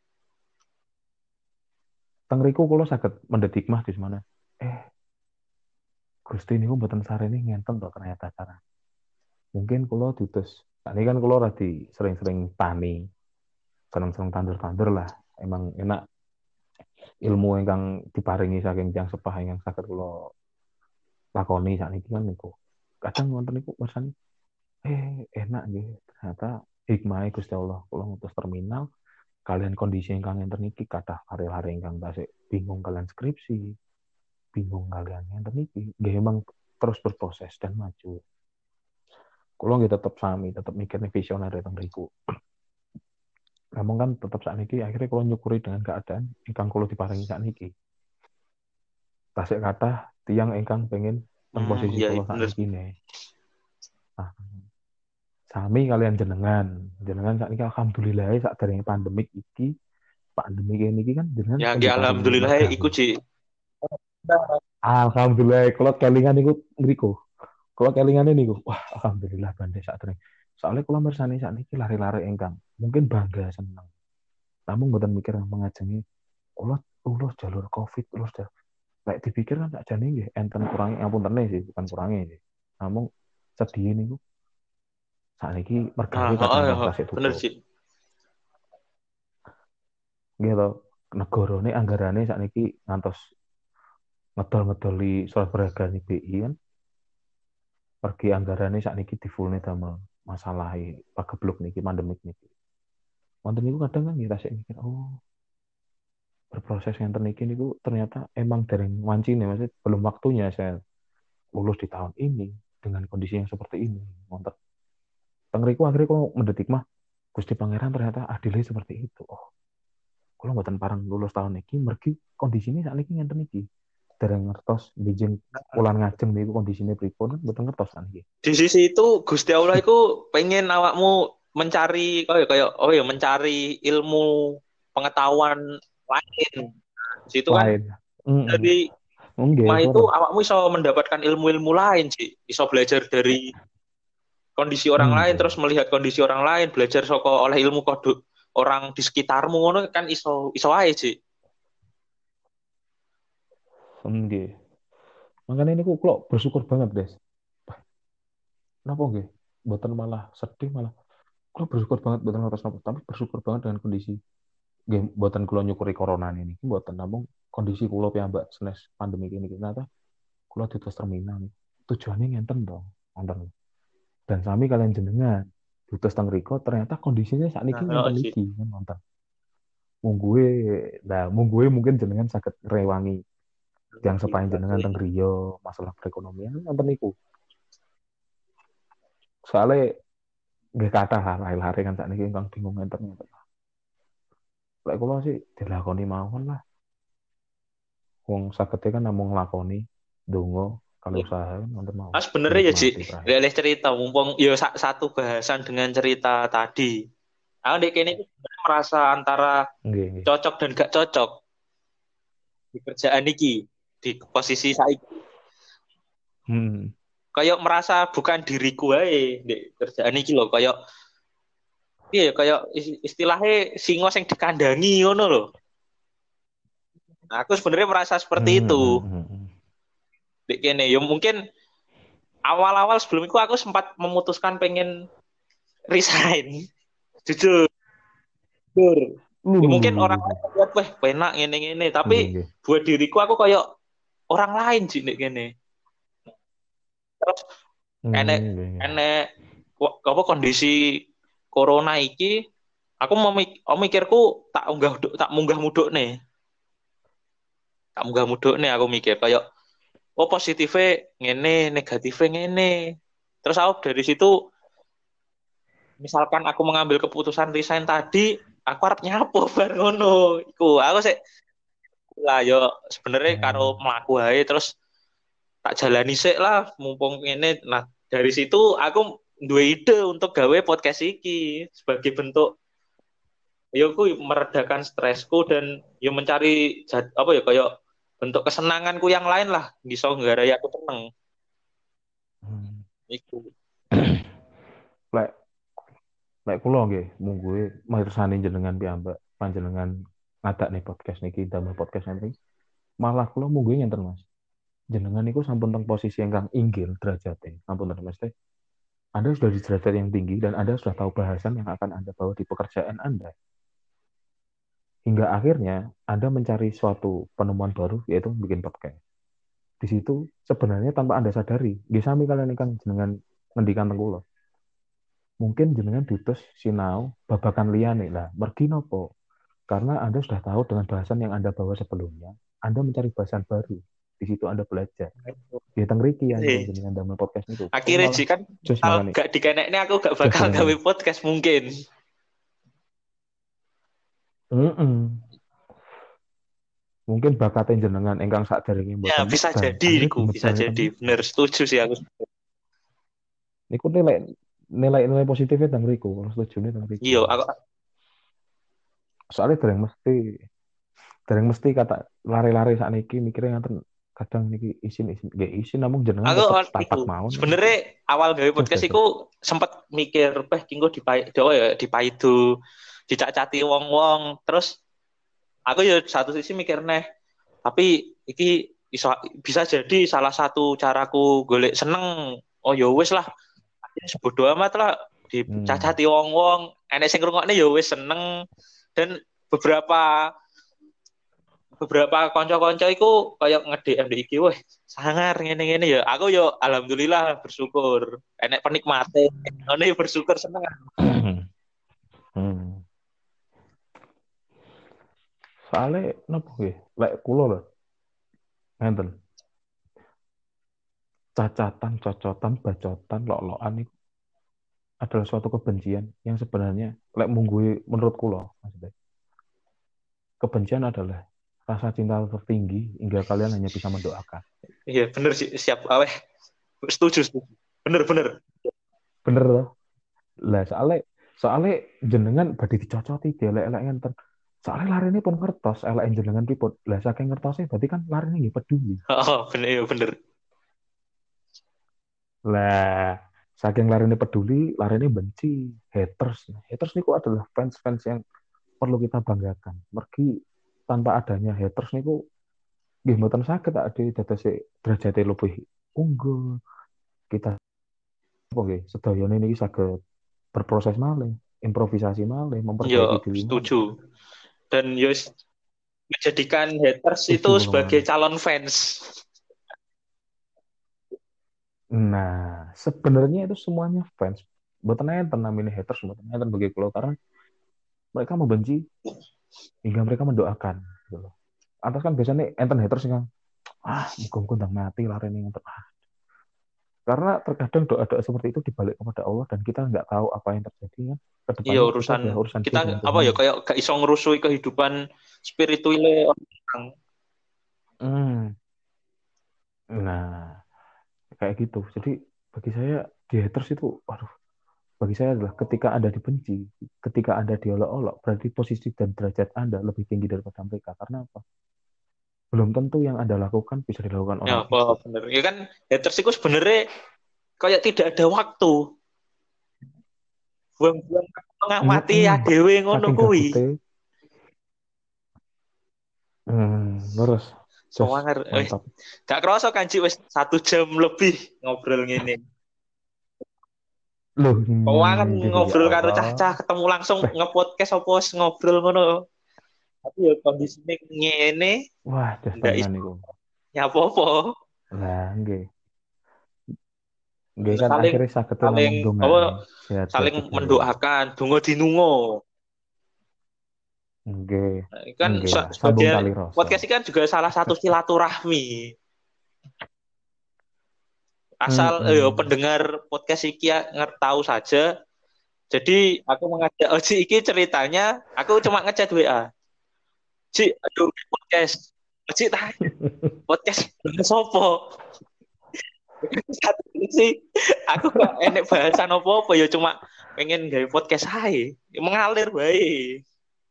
Tengriku kalau sakit mendetik mah di mana? Eh, Gusti niku mboten sarene ngenten to ternyata cara. Mungkin kalau diutus, nah, ini kan kalau lagi sering-sering tani, seneng-seneng tandur-tandur lah. Emang enak ilmu yang diparingi saking yang sepah yang sakit kalau lakoni saat ini kan niku. Kadang nonton niku pesan, enak gitu. Ternyata hikmah Gusti Allah. Kalau ngutus terminal, kalian kondisi yang kalian terniki, kata hari-hari yang tasik bingung kalian skripsi, bingung kalian yang terniki. Gak emang terus berproses dan maju. Kulo nggih tetep sami, tetep mikir nih visioner teng mriku. Namun kan tetep sakniki akhirnya kulo nyukuri dengan keadaan ingkang kulo diparingi sakniki. Tasik kathah tiang ingkang pengen teng posisi Iya kulo bener. sakniki nih. Nah, sami kalian jenengan. Jenengan sakniki alhamdulillah sakderenge pandemik iki, pandemik ini kan jenengan Ya kan nggih diparingi alhamdulillah iku mergawe. Ci. Alhamdulillah kalau kelingan niku ngriku. Kalau kelingan niku, wah alhamdulillah bandhe sakderenge. Soalnya kalau mersani sakniki lari-lari engkang, mungkin bangga seneng. Namun mboten mikir mengajengi ulos ulos jalur Covid, ulos jalur. Lek dipikir kan sakjane nggih enten kurangi ngapunten sih, bukan kurangi sih. Namun sedih niku sakniki Nah, mergawe oh, kadang-kadang oh, tasik bener tutup. Ci. Nggih to, negarane anggarane sakniki ngantos ngedol-ngedoli surat berharga BI kan pergi anggarane sakniki difulne damel masalah pagebluk niki pandemik niki. Wonten niku kadang kan kita sik mikir, oh berproses yang niki niku ternyata emang dari wancine maksudnya belum waktunya saya lulus di tahun ini dengan kondisi yang seperti ini. Wonten tengriku akhirnya kok mendetik mah Gusti Pangeran ternyata adilnya seperti itu. Oh, kalau mboten parang lulus tahun niki mergi kondisinya saat niki ngenten niki. Dereng ngertos bijing ulan ngajeng niku kondisine pripun kan mboten ngertos kan iki. Di sisi itu Gusti Allah itu pengen awakmu mencari oh ya mencari ilmu pengetahuan lain. Di situ kan Lain. Heeh. dari Nggih, hikmah itu pura. awakmu bisa mendapatkan ilmu-ilmu lain sih. Bisa belajar dari kondisi orang lain Nggih. terus melihat kondisi orang lain, belajar oleh ilmu kode orang di sekitarmu ngono kan iso iso aja sih. Nggih. Makanya ini kok bersyukur banget, Des. Kenapa nggih? Mboten malah sedih malah. Kula bersyukur banget mboten ngertos napa, tapi bersyukur banget dengan kondisi nggih mboten kula nyukuri corona ini mboten namung kondisi kula piyambak senes pandemi ini ternyata kula diutus terminal nih. Tujuannya ngenten dong, wonten. Dan sami kalian jenengan diutus teng riko ternyata kondisinya saat ini Nah, oh, ngenten sih. iki kan wonten. Mungguwe, nah mungguwe mungkin jenengan saged rewangi yang sepain jenengan teng griya masalah perekonomian wonten niku. Soalnya nggih kathah lah lahir-lahir kan saat ini ingkang bingung ngenten ngenten. Lek kula sih dilakoni mawon lah. Wong sagede kan namung nglakoni donga kali usaha kan wonten mawon. Mas bener ya Ci, Nikmati terakhir. lihat cerita mumpung yo satu bahasan dengan cerita tadi. Aku dek ini merasa antara Nggih, nggih. cocok dan gak cocok di kerjaan iki di posisi saya Hmm. kayak merasa bukan diriku aja di kerjaan iki loh kayak iya kayak istilahnya singo yang dikandangi ngono loh. Nah, aku sebenarnya merasa seperti Hmm, hmm, itu hmm, hmm. di kene ya mungkin awal-awal sebelum itu aku sempat memutuskan pengen resign jujur. Jujur. Ya mungkin orang lain Lulu. lihat weh penak ngene-ngene tapi Nggih, nggih. buat diriku aku kayak orang lain sih nek kene. Terus enek Nggih, nggih. enek apa kondisi corona iki aku mau mikirku tak munggah muduk nih aku mikir kayak oh positifnya ngene negatifnya ngene terus aku dari situ misalkan aku mengambil keputusan resign tadi aku harap nyapo bar ngono iku aku sih lah yo sebenarnya karo Oh. mlaku ae terus tak jalani sik lah mumpung ini nah dari situ aku duwe ide untuk gawe podcast iki sebagai bentuk yo ku meredakan stresku dan yo mencari apa ya kayak bentuk kesenanganku yang lain lah bisa nggarai aku tenang Hmm. iku. Lek lek kula nggih mungguhe mirsani jenengan piyambak panjenengan ngadak nih podcast niki damel podcast nanti. Malah kula mungguhe ngenten Mas. Jenengan niku sampun teng posisi ingkang inggil derajate. Ampun Mas teh. Anda sudah di derajat yang tinggi dan Anda sudah tahu bahasan yang akan Anda bawa di pekerjaan Anda. Hingga akhirnya Anda mencari suatu penemuan baru yaitu bikin podcast. Di situ sebenarnya tanpa Anda sadari, nggih sami kalian ingkang jenengan ngendikan teng kula. Mungkin jenengan diutus sinau babakan liyane lah. Mergi nopo? Karena Anda sudah tahu dengan bahasan yang Anda bawa sebelumnya, Anda mencari bahasan baru di situ Anda belajar. Ya tengriki ya Eh, jenengan damel podcast niku. Oh akhirnya malah Ji kan jos kalau makane. gak dikenekne aku gak Jos bakal gawe makane. podcast mungkin. Heeh. Mungkin bakatnya jenengan ingkang sadèrèngé Ya mboten bisa medal, jadi, akhirnya Riku, bisa dumedal ngeten jadi. niku. Bener, setuju sih aku. Niku nilai positifnya teng mriku, kalau setujune teng mriku. Iya, aku Soalnya dereng mesti kata lari-lari sakniki mikirnya ngaten kadang niki isin-isin nggih isin namun jenengan aku tetep itu tatak mawon sebenarnya awal gawe jos podcast jos. iku sempat mikir, kinggo dewa ya dipaidu, dicacati wong-wong. Terus aku ya satu sisi mikir neh, tapi iki bisa jadi salah satu caraku golek seneng. Oh ya wis lah, sebodo amat lah Hmm. dicacati wong-wong, enek sing ngrungokne ya wis seneng. Dan beberapa beberapa konco-konco iku kayak nge-DM di IG, weh sangar ngene-ngene ya. Aku yo alhamdulillah bersyukur. Enek penikmate. Ngene bersyukur seneng. Hmm. Soalnya napa nggih? Lek kula lho, ngenten. Cacatan, cocotan, bacotan, lok-lokan itu adalah suatu kebencian yang sebenarnya lek munggui menurut kula, maksudnya. Kebencian adalah rasa cinta tertinggi hingga kalian hanya bisa mendoakan. Iya bener sih, siap aweh. Setuju, setuju. Bener bener. Bener loh. Lah soalnya soalnya jenengan badhe dicocoti dielek-elek ngenten. Soalnya lari ini pun ngertos, elek jenengan pripun. Lah saking ngertosnya berarti kan lari ini nggih peduli. Oh, bener iya bener. Lah saking lari ini peduli, lari ini benci. Haters. Haters niku adalah fans-fans yang perlu kita banggakan. Mergi tanpa adanya haters niku nggih mboten saged ade dados derajate lebih unggul. Kita apa nggih sedayane niki saged berproses malih, improvisasi malih, Yo memperbaiki diri malih. setuju. Dan yo menjadikan haters itu Setuju kula sebagai mawon. calon fans. Nah, sebenarnya itu semuanya fans. Mboten enten namanya haters, mboten enten bagi kula karena mereka membenci hingga mereka mendoakan gitu loh. Atas kan biasanya enten haters yang muga-muga ndang mati lari ning enten. Karena terkadang doa-doa seperti itu dibalik kepada Allah dan kita nggak tahu apa yang terjadi ya. Iya Kedepannya itu urusan adalah urusan kita dia dengan apa ya Tuhannya. kayak gak iso ngerusui kehidupan spiritualnya orang. Hmm. Nah, kayak gitu. Jadi bagi saya di haters itu, waduh, bagi saya adalah ketika Anda dibenci, ketika Anda diolok-olok, berarti posisi dan derajat Anda lebih tinggi daripada mereka. Karena apa? Belum tentu yang Anda lakukan bisa dilakukan Ya, orang wah, itu. bener. Ya kan haters itu sebenarnya kayak tidak ada waktu. Buang-buang mengamati Mm-mm. ADW ngono Saking kuwi. gabute, terus, just Soalnya mantap. gak kerasa kan Ci wis 1 jam lebih ngobrol ngene. Loh, Kawan ya ngobrol karo cah-cah Allah. ketemu langsung Beh, ngepodcast apa wis ngobrol ngono. Tapi ya kondisinya ngene wah, just ndak tenan iso iku. nyapa-apa. Lah, nggih. Nggih kan Saling akhirnya saged saling namung apa ndongakne sehat-sehat saling sedaya. mendoakan donga dinunga. Nggih. Kan Nggih lah, sambung sebagai tali rasa. podcast ini kan juga salah satu silaturahmi. Asal Mm-mm. pendengar podcast iki tahu saja. Jadi aku mengajak Oji iki ceritanya, aku cuma ngechat WA. Ji, aduh podcast. Oji tanya, podcast bahas apa? Satu ini sih, aku gak enek bahasan apa-apa ya cuma pengen gawe podcast aja. Mengalir baik.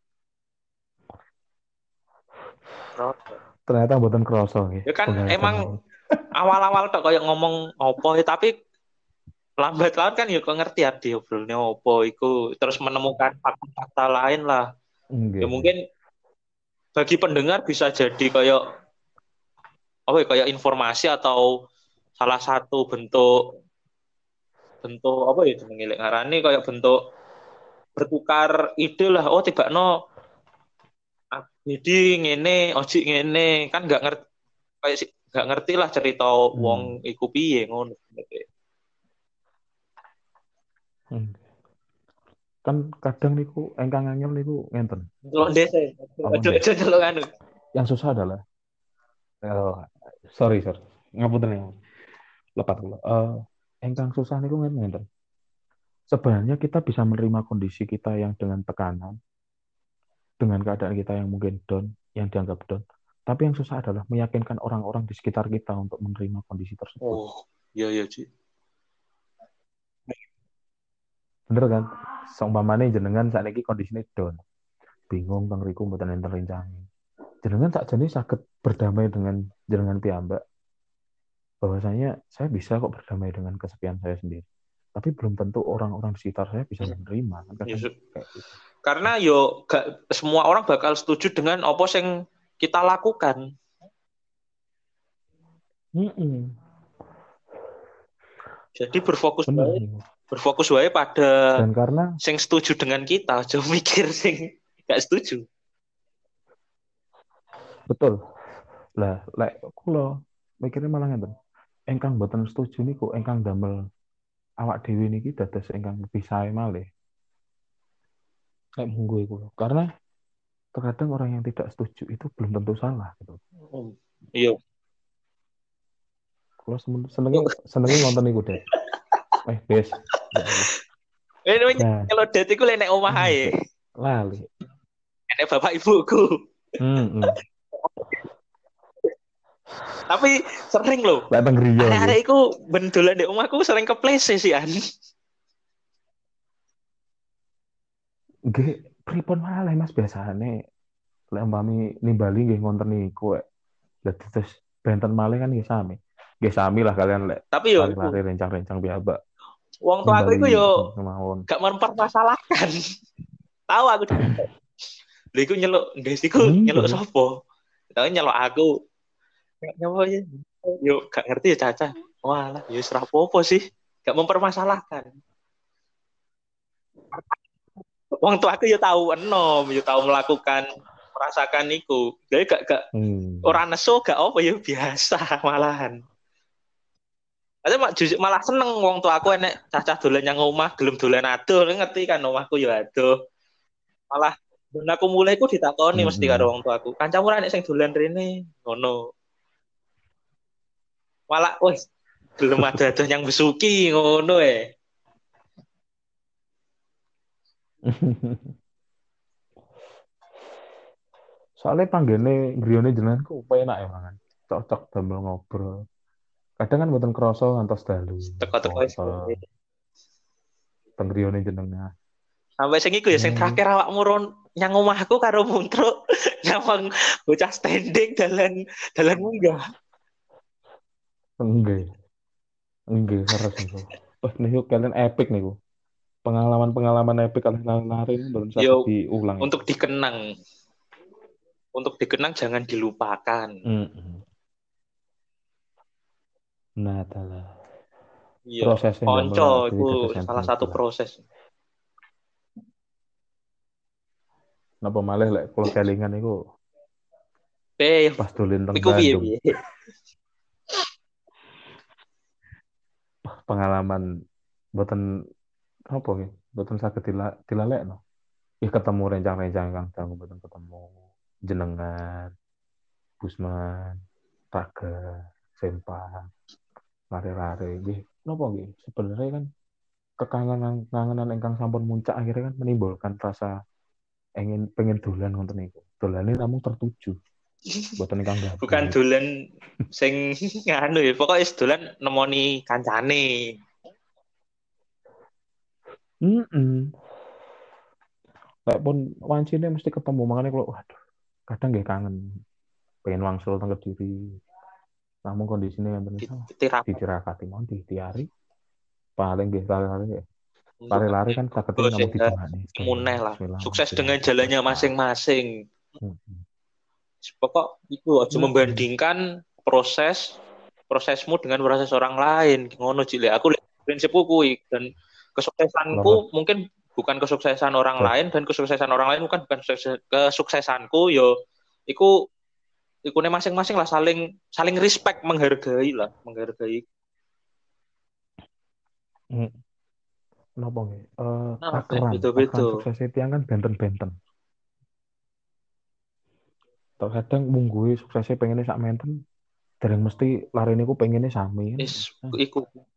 Ternyata mboten krasa nggih Ya kan pembahasan emang ini. awal-awal kok kayak ngomong apa ya, tapi lambat laun kan ya kok ngerti ya diobrolnya apa iku terus menemukan fakta-fakta lain lah. Ya Nggih. mungkin bagi pendengar bisa jadi kayak apa ya kayak informasi atau salah satu bentuk bentuk apa ya jenenge lek ngarani kayak bentuk bertukar ide lah. Oh tiba no jadi ngene oji ngene kan nggak ngerti kayak nggak ngerti lah cerita wong Hmm. iku piye ngono. Hmm. Kan kadang niku engkang angel niku ngenten, Delok Mas. desa Apa aja nggih? aja delok anu. Yang susah adalah sorry. Ngapunten ya. Lepat kula. Engkang susah niku ngenten. Sebenarnya kita bisa menerima kondisi kita yang dengan tekanan, dengan keadaan kita yang mungkin down, yang dianggap down. Tapi yang susah adalah meyakinkan orang-orang di sekitar kita untuk menerima kondisi tersebut. Oh, iya iya, Ci. Bener kan? Seumpamane jenengan saat ini kondisinya down, bingung teng riku mboten enten rencana. Jenengan tak jadi sakit berdamai dengan jenengan piyambak bahwasanya saya bisa kok berdamai dengan kesepian saya sendiri. Tapi belum tentu orang-orang di sekitar saya bisa menerima. Kan Ya, kadang kayak gitu. karena yo gak semua orang bakal setuju dengan apa yang kita lakukan. Mm-mm. Jadi Bener nih. berfokus wae pada Dan karena sing setuju dengan kita, jauh mikir sing gak setuju. betul lah, lek kula mikirnya malah ngeten. Engkang boten setuju niku engkang damel awak dhewe niki dados engkang lebih sae malih. Lek munggo iku lho. Karena terkadang orang yang tidak setuju itu belum tentu salah gitu. Iya. Kalau senengnya senengnya ngonten niku deh. Bes. Ya Allah. Ini Nah, kalau det iku lek nek omah ae. bes. Lali. Nek bapak ibuku. Hmm. Tapi sering loh. Lek teng griya nggih. Arek-arek iku ben dolan di omahku sering keplese sih an. Nggih, pripun malih Mas biasane lek umpami nimbali nggih ngonten niku. Dadi terus benten malih kan nggih sami. Nggih sami lah kalian lek Tapi yo iku lari-lari rencang-rencang piyambak wong tua aku iku nimbali yo kemawon. gak mempermasalahkan. Tahu aku. Lha iku nyeluk, Des iku nyeluk Enggak. sapa? Tahu nyeluk aku. Nyapa ya? Yo gak ngerti ya Caca. Walah, yo serah apa sih? Gak mempermasalahkan. Wong tua aku yo tahu enom, yo tahu melakukan merasakan iku. Jadi gak Hmm. orang nesu gak apa ya biasa malahan. Tapi justru malah seneng wong tua aku enek cacah dolan yang omah gelem dolan adoh, ngerti kan omahku yo adoh. Malah ben aku mulai ku ditakoni mesti karo Mm-mm. wong tua aku. Kancamu ra nek sing dolan rene ngono. Malah wes gelem ada yang besuki ngono Soalnya panggene griyane jenengan kok enak ya mangan. Cocok damel ngobrol. Kadang kan mboten krasa ngantos dalu teko-teko foto teng griyane jenengan. sampai sing iku ya sing Jenengan iki terakhir awak muron nyang omahku karo Muntro nyawang bocah standing dalan munggah. enggak, enggak harus niku. Wah, niku kalian epic niku. Pengalaman-pengalaman epic kalian lari ini belum Yo sakit diulang itu. untuk dikenang, untuk dikenang jangan dilupakan. Mm-mm. Nah, adalah Iya, prosesnya damel konco awak itu dhewe dados enten salah iku satu lah. proses. Napa malih lek kula kelingan niku Eh, pas dolen teng iku piye Bandung. piye? Pengalaman boten apa nggih, boten saged dilalekno. Ih ketemu rencang-rencang Kang Dangu boten ketemu jenengan, Gusman, Raga, Sempa, lari-lari nggih. Napa nggih? Sebenarnya kan kekangenan ingkang sampun muncak akhirnya kan menimbulkan rasa pengen dolan ngoten niku. Dolane namung tertuju, boten ingkang Bukan gabut. dolan sing nganu ya, pokoknya dolan nemoni kancane. Mm. Lek pun wancine mesti ketemu makanya kalau waduh, kadang nggih kangen pengen wangsul teng Kediri. Namun kondisinya yang benar salah. Ditirakat Ditirakati mau diari paling nggih lari-lari untuk lari-lari kan sakitnya namun sehat dijengak nih muneh lah. Bismillah Sukses dengan jalannya masing-masing. hmm. Pokok itu aja Hmm. membandingkan prosesmu dengan proses orang lain. Ngono Cile. Aku prinsipku kuwi dan Kalau kesuksesanku mungkin bukan kesuksesan orang Cek. lain dan kesuksesan orang lain bukan kesuksesanku yo iku ikune masing-masing lah saling saling respect menghargai lah menghargai. Hmm. Napa nggih? Nah, Takaran beda-beda. suksesnya tiang kan benten-benten. Terkadang mungguhe suksesnya pengennya sak menten, dereng mesti lari niku pengennya sami kan. Is iku.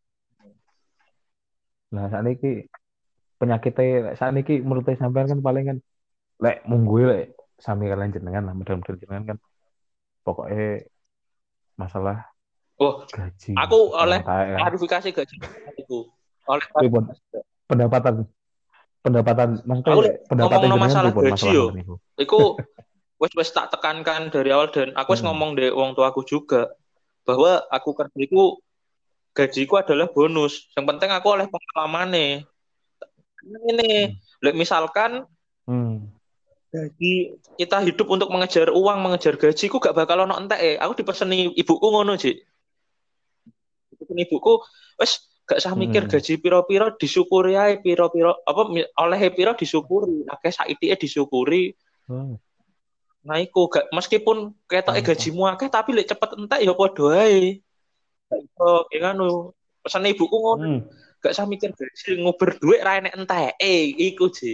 Lah sakniki penyakitnya sakniki menurut sampean kan paling kan lek mungguwe lek sami kalian jenengan lah model-model jenengan kan pokoknya masalah Oh, gaji aku kalau oleh entek kan. klarifikasi gaji itu. Oleh Pripun klarifikasi. pendapatan pendapatan Aku maksudnya lek pendapatan ngomong jenengan masalah pripun gaji masalah yo. ngoten niku. Iku wes tak tekankan dari awal dan aku wis Heeh. ngomong deh wong tuaku juga bahwa aku kerja itu gajiku adalah bonus. Yang penting aku oleh pengalaman nih. Ini, Heeh. lek misalkan Hmm. gaji kita hidup untuk mengejar uang, mengejar gaji, ku gak bakal ono entek Aku dipeseni ibuku ngono, Ji. Dipeseni ibuku, wes gak usah mikir Heeh. gaji piro-piro disyukuri ae piro-piro apa oleh piro disyukuri, akeh saiki disyukuri. Oh, Nah, iku gak meskipun ketoke pantes. gajimu akeh tapi lek cepet entek ya padha ae. Gak iso ya ngono. Pesan ibuku ngono. Hmm. Gak usah mikir gaji nguber duit ra enek entek. Iku, Ji.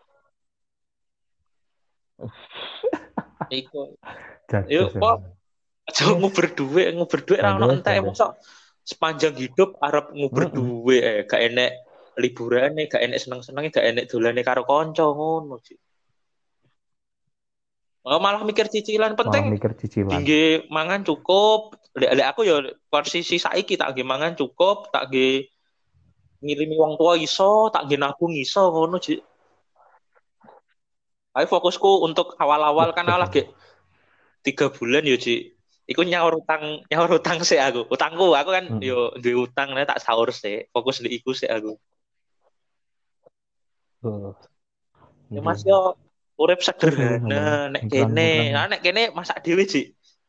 Iku. Yuk, Jajos kok emang. aja Yes, nguber duit ra ono jajos, entek jajos. mosok sepanjang hidup arep nguber Heeh. duit gak enek liburane, gak enek seneng-senenge, gak enek dolane karo kanca ngono, Ji. Oh, malah mikir cicilan Malah penting mikir cicilan. tinggi mangan cukup. Lek aku ya posisi saiki tak nggih mangan cukup, tak nggih ngirimi wong tua iso, tak nggih nabung iso ngono, Ji. Ayo fokusku untuk awal-awal Wah, kan jajos. lagi 3 bulan ya, Ji. Iku nyaur utang sih aku. Utangku, aku kan Heeh. yo duwe utang nek tak sahur sih. Fokus di iku sih aku. Oh, Ya nggih. Mas yo urip Terus nggih sederhana sampean nek kene. iklan-iklan. Nah, nek kene masak dhewe, Ji.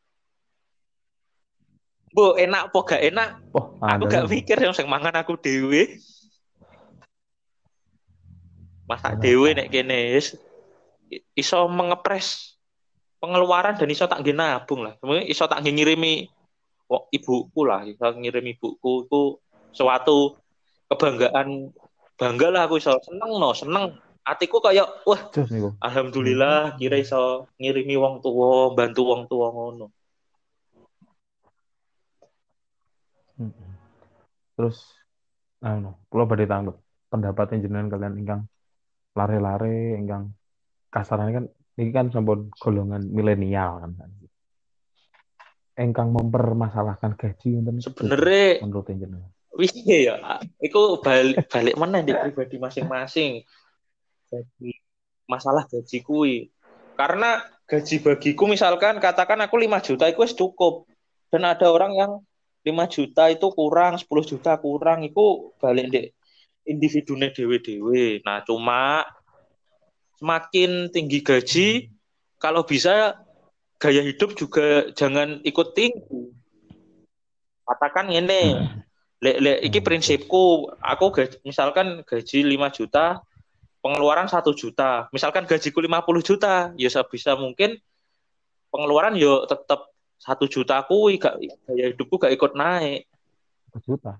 Bu, enak apa gak enak? Wah, Aku andalan gak tuh. mikir yang sing mangan aku dhewe. Masak Enak dhewe ta. nek kene wis iso mengepres pengeluaran dan iso tak nggih nabung lah. Kemudian iso tak nggih ngirimi ibuku lah, iso ngirim ibuku itu suatu kebanggaan bangga lah aku iso seneng no seneng hatiku kayak wah Jos niku. Hmm. alhamdulillah kira iso ngirimi wong tua bantu wong tua ngono. Heeh. Terus anu, kula badhe tanglet pendapatnya jenengan kalian ingkang lare-lare ingkang kasarane kan ini kan sampun golongan milenial kan. Ingkang mempermasalahkan gaji wonten niku pripun Sebenarnya menurut jenengan? wis ya iku balik balik mana di pribadi masing-masing jadi masalah gaji kui karena gaji bagiku misalkan katakan aku 5 juta itu wis cukup dan ada orang yang 5 juta itu kurang 10 juta kurang itu balik dek individunya dewe-dewe. Nah, cuma semakin tinggi gaji, kalau bisa gaya hidup juga jangan ikut tinggi. Katakan ini, iki Terus. prinsipku, aku misalkan gaji 5 juta, pengeluaran 1 juta. Misalkan gajiku 50 juta, ya sebisa mungkin pengeluaran yo tetap 1 juta gak, gaya hidupku gak ikut naik. 1 juta.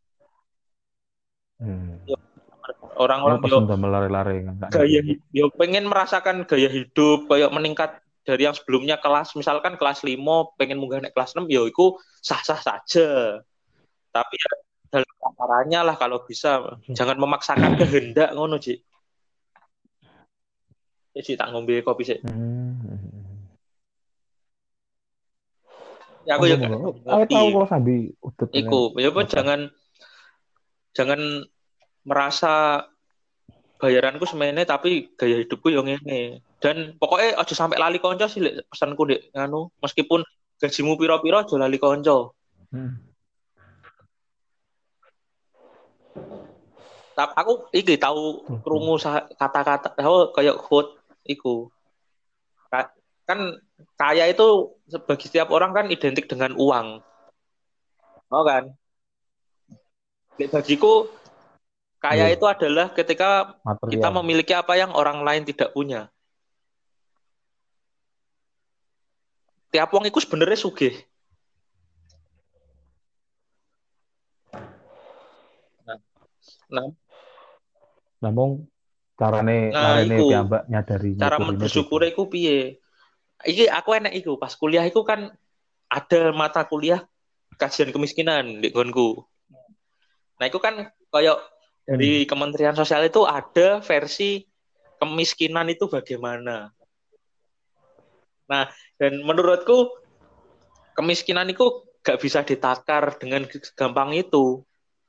Yo, Hmm. Ini orang-orang pesen damel lare-lare kan Kak niki. gaya yo pengen merasakan gaya hidup kayak meningkat dari yang sebelumnya kelas misalkan kelas 5 pengen munggah naik kelas 6 yo itu sah-sah saja tapi ya dalam caranya lah kalau bisa jangan memaksakan kehendak ngono Ji. Jadi tak ngombe kopi sih Hmm. ya aku Monggo ya gak monggo. Awet ngopi tahu kalau sambil udut iku dengan ya apa ngobrol. jangan jangan merasa bayaranku semene tapi gaya hidupku yang ini dan pokoknya aja sampai lali konco sih Lek, pesanku dek nganu meskipun gajimu piro-piro aja lali konco. Hmm. Tapi aku iki tahu Tuh, tuh. krungu kata-kata oh, kayak quote iku. Kan kaya itu bagi setiap orang kan identik dengan uang. Oh kan? Bagiku kaya Nggih, itu adalah ketika kita material. memiliki apa yang orang lain tidak punya. Tiap wong iku sebenarnya sugih. Nah, nah, Namun carane nah, larene iku piyambak nyadari cara nyukurine bersyukur pripun. iku piye? Iki aku enek iku pas kuliah iku kan ada mata kuliah kajian kemiskinan di nggonku. Nah, itu kan kayak dari Kementerian Sosial itu ada versi kemiskinan itu bagaimana. Nah, dan menurutku kemiskinan itu gak bisa ditakar dengan gampang itu.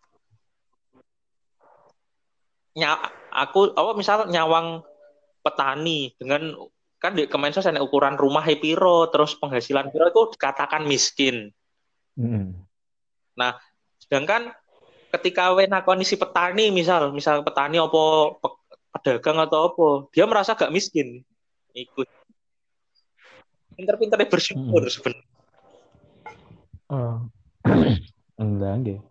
Aku misal nyawang petani dengan kan di Kemensos ada ukuran rumah piro terus penghasilan piro itu dikatakan miskin. Nah, sedangkan ketika nakoni si petani misal petani apa pedagang atau apa, dia merasa gak miskin. Ikut pinter-pinternya bersyukur sebenarnya. Enggak, enggak.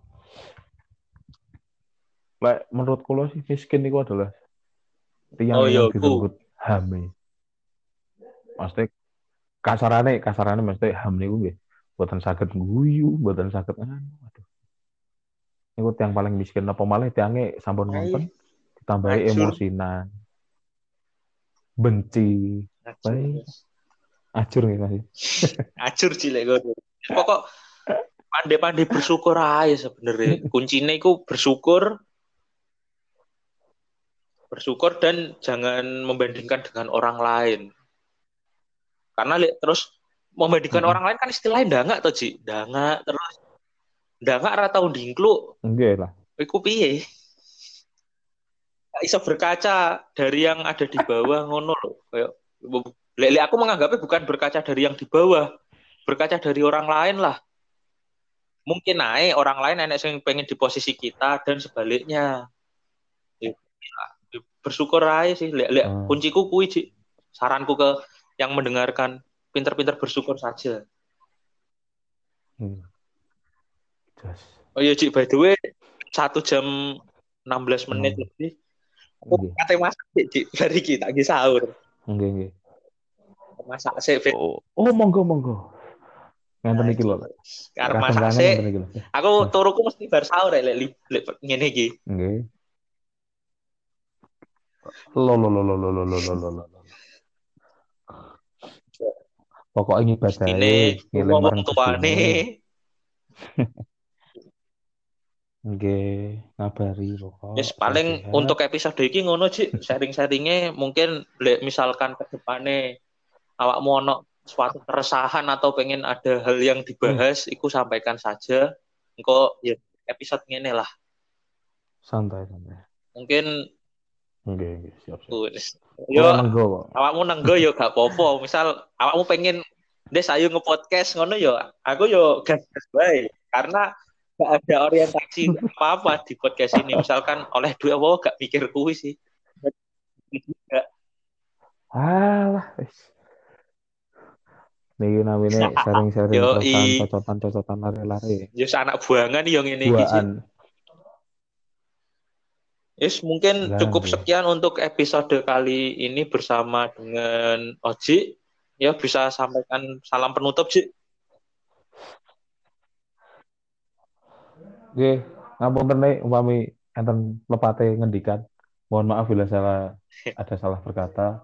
Menurut kulo sih miskin itu adalah tiang Oh yang iya, direnggut HAM. Maksudnya kasarannya maksudnya HAM niku nggih boten saged guyu, boten saged aduh. Niku tiang paling miskin apa malah tiange sampun Ayo, ngonten ditambahi acur, emosinan, benci, baik, acur nih masih. acur cilek gue. Pokok pandai-pandai bersyukur aja sebenarnya. Kuncinya itu bersyukur dan jangan membandingkan dengan orang lain. Karena terus membandingkan orang lain kan istilahnya dangak tuh, Ci. Dangak terus dangak ora tau ndingkluk. Enggak lah. Iku piye? Gak iso berkaca dari yang ada di bawah ngono loh. Kayak lek aku menganggapnya bukan berkaca dari yang di bawah, berkaca dari orang lain lah. Mungkin naik orang lain enek yang pengen di posisi kita dan sebaliknya. Ya, bersyukur aja sih. Kunciku kuwi, Ci. Saranku ke yang mendengarkan, pinter-pinter bersyukur saja. Just. Oh iya, Ci, by the way, 1 jam 16 menit lebih. Aku kate masak, Ci, dari kita lagi sahur. Nggih. Masak sih, Monggo. Ngenten iki lho. Karena masak sih, aku turuku mesti bar sahur lek ngene iki. Nggih. Lo. Pokoknya ibadahe ngeling marang tuane. Nggih, ngabari pokok. Yes, paling untuk episode iki ngono, Cik. Sharing-sharingnya mungkin misalkan ke depane awakmu ono suatu keresahan atau pengen ada hal yang dibahas, iku sampaikan saja. Engko ya episode ngene lah. Santai. Mungkin Nggih, siap. Yo, awakmu nenggo yo gak apa-apa. Misal awakmu pengen Des ayo nge-podcast ngono yo, aku yo gas bae. Karena gak ada orientasi apa-apa di podcast ini. Misalkan oleh duit apa gak mikir kuwi sih. Alah, wis. Niki namine sharing-sharing cocotan lari-lari. Yo anak buangan yo ngene iki sih. Yes, mungkin cukup sekian untuk episode kali ini bersama dengan Oji. Ya, bisa sampaikan salam penutup, Ji. Oke, ngapunten nek umpami enten lepate ngendikan. Mohon maaf bila ada salah berkata.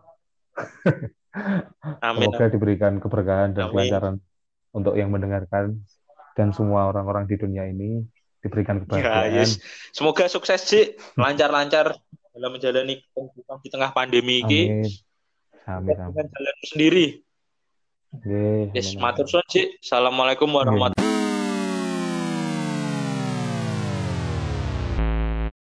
Amin. Semoga diberikan keberkahan dan kelancaran untuk yang mendengarkan dan semua orang-orang di dunia ini diberikan kebahagiaan. Ya, yes. Semoga sukses, Ci. Lancar-lancar dalam menjalani kehidupan di tengah pandemi ini. Amin. Dengan jalan sendiri. Yes, matur suwun, Ci. Assalamualaikum warahmatullahi wabarakatuh.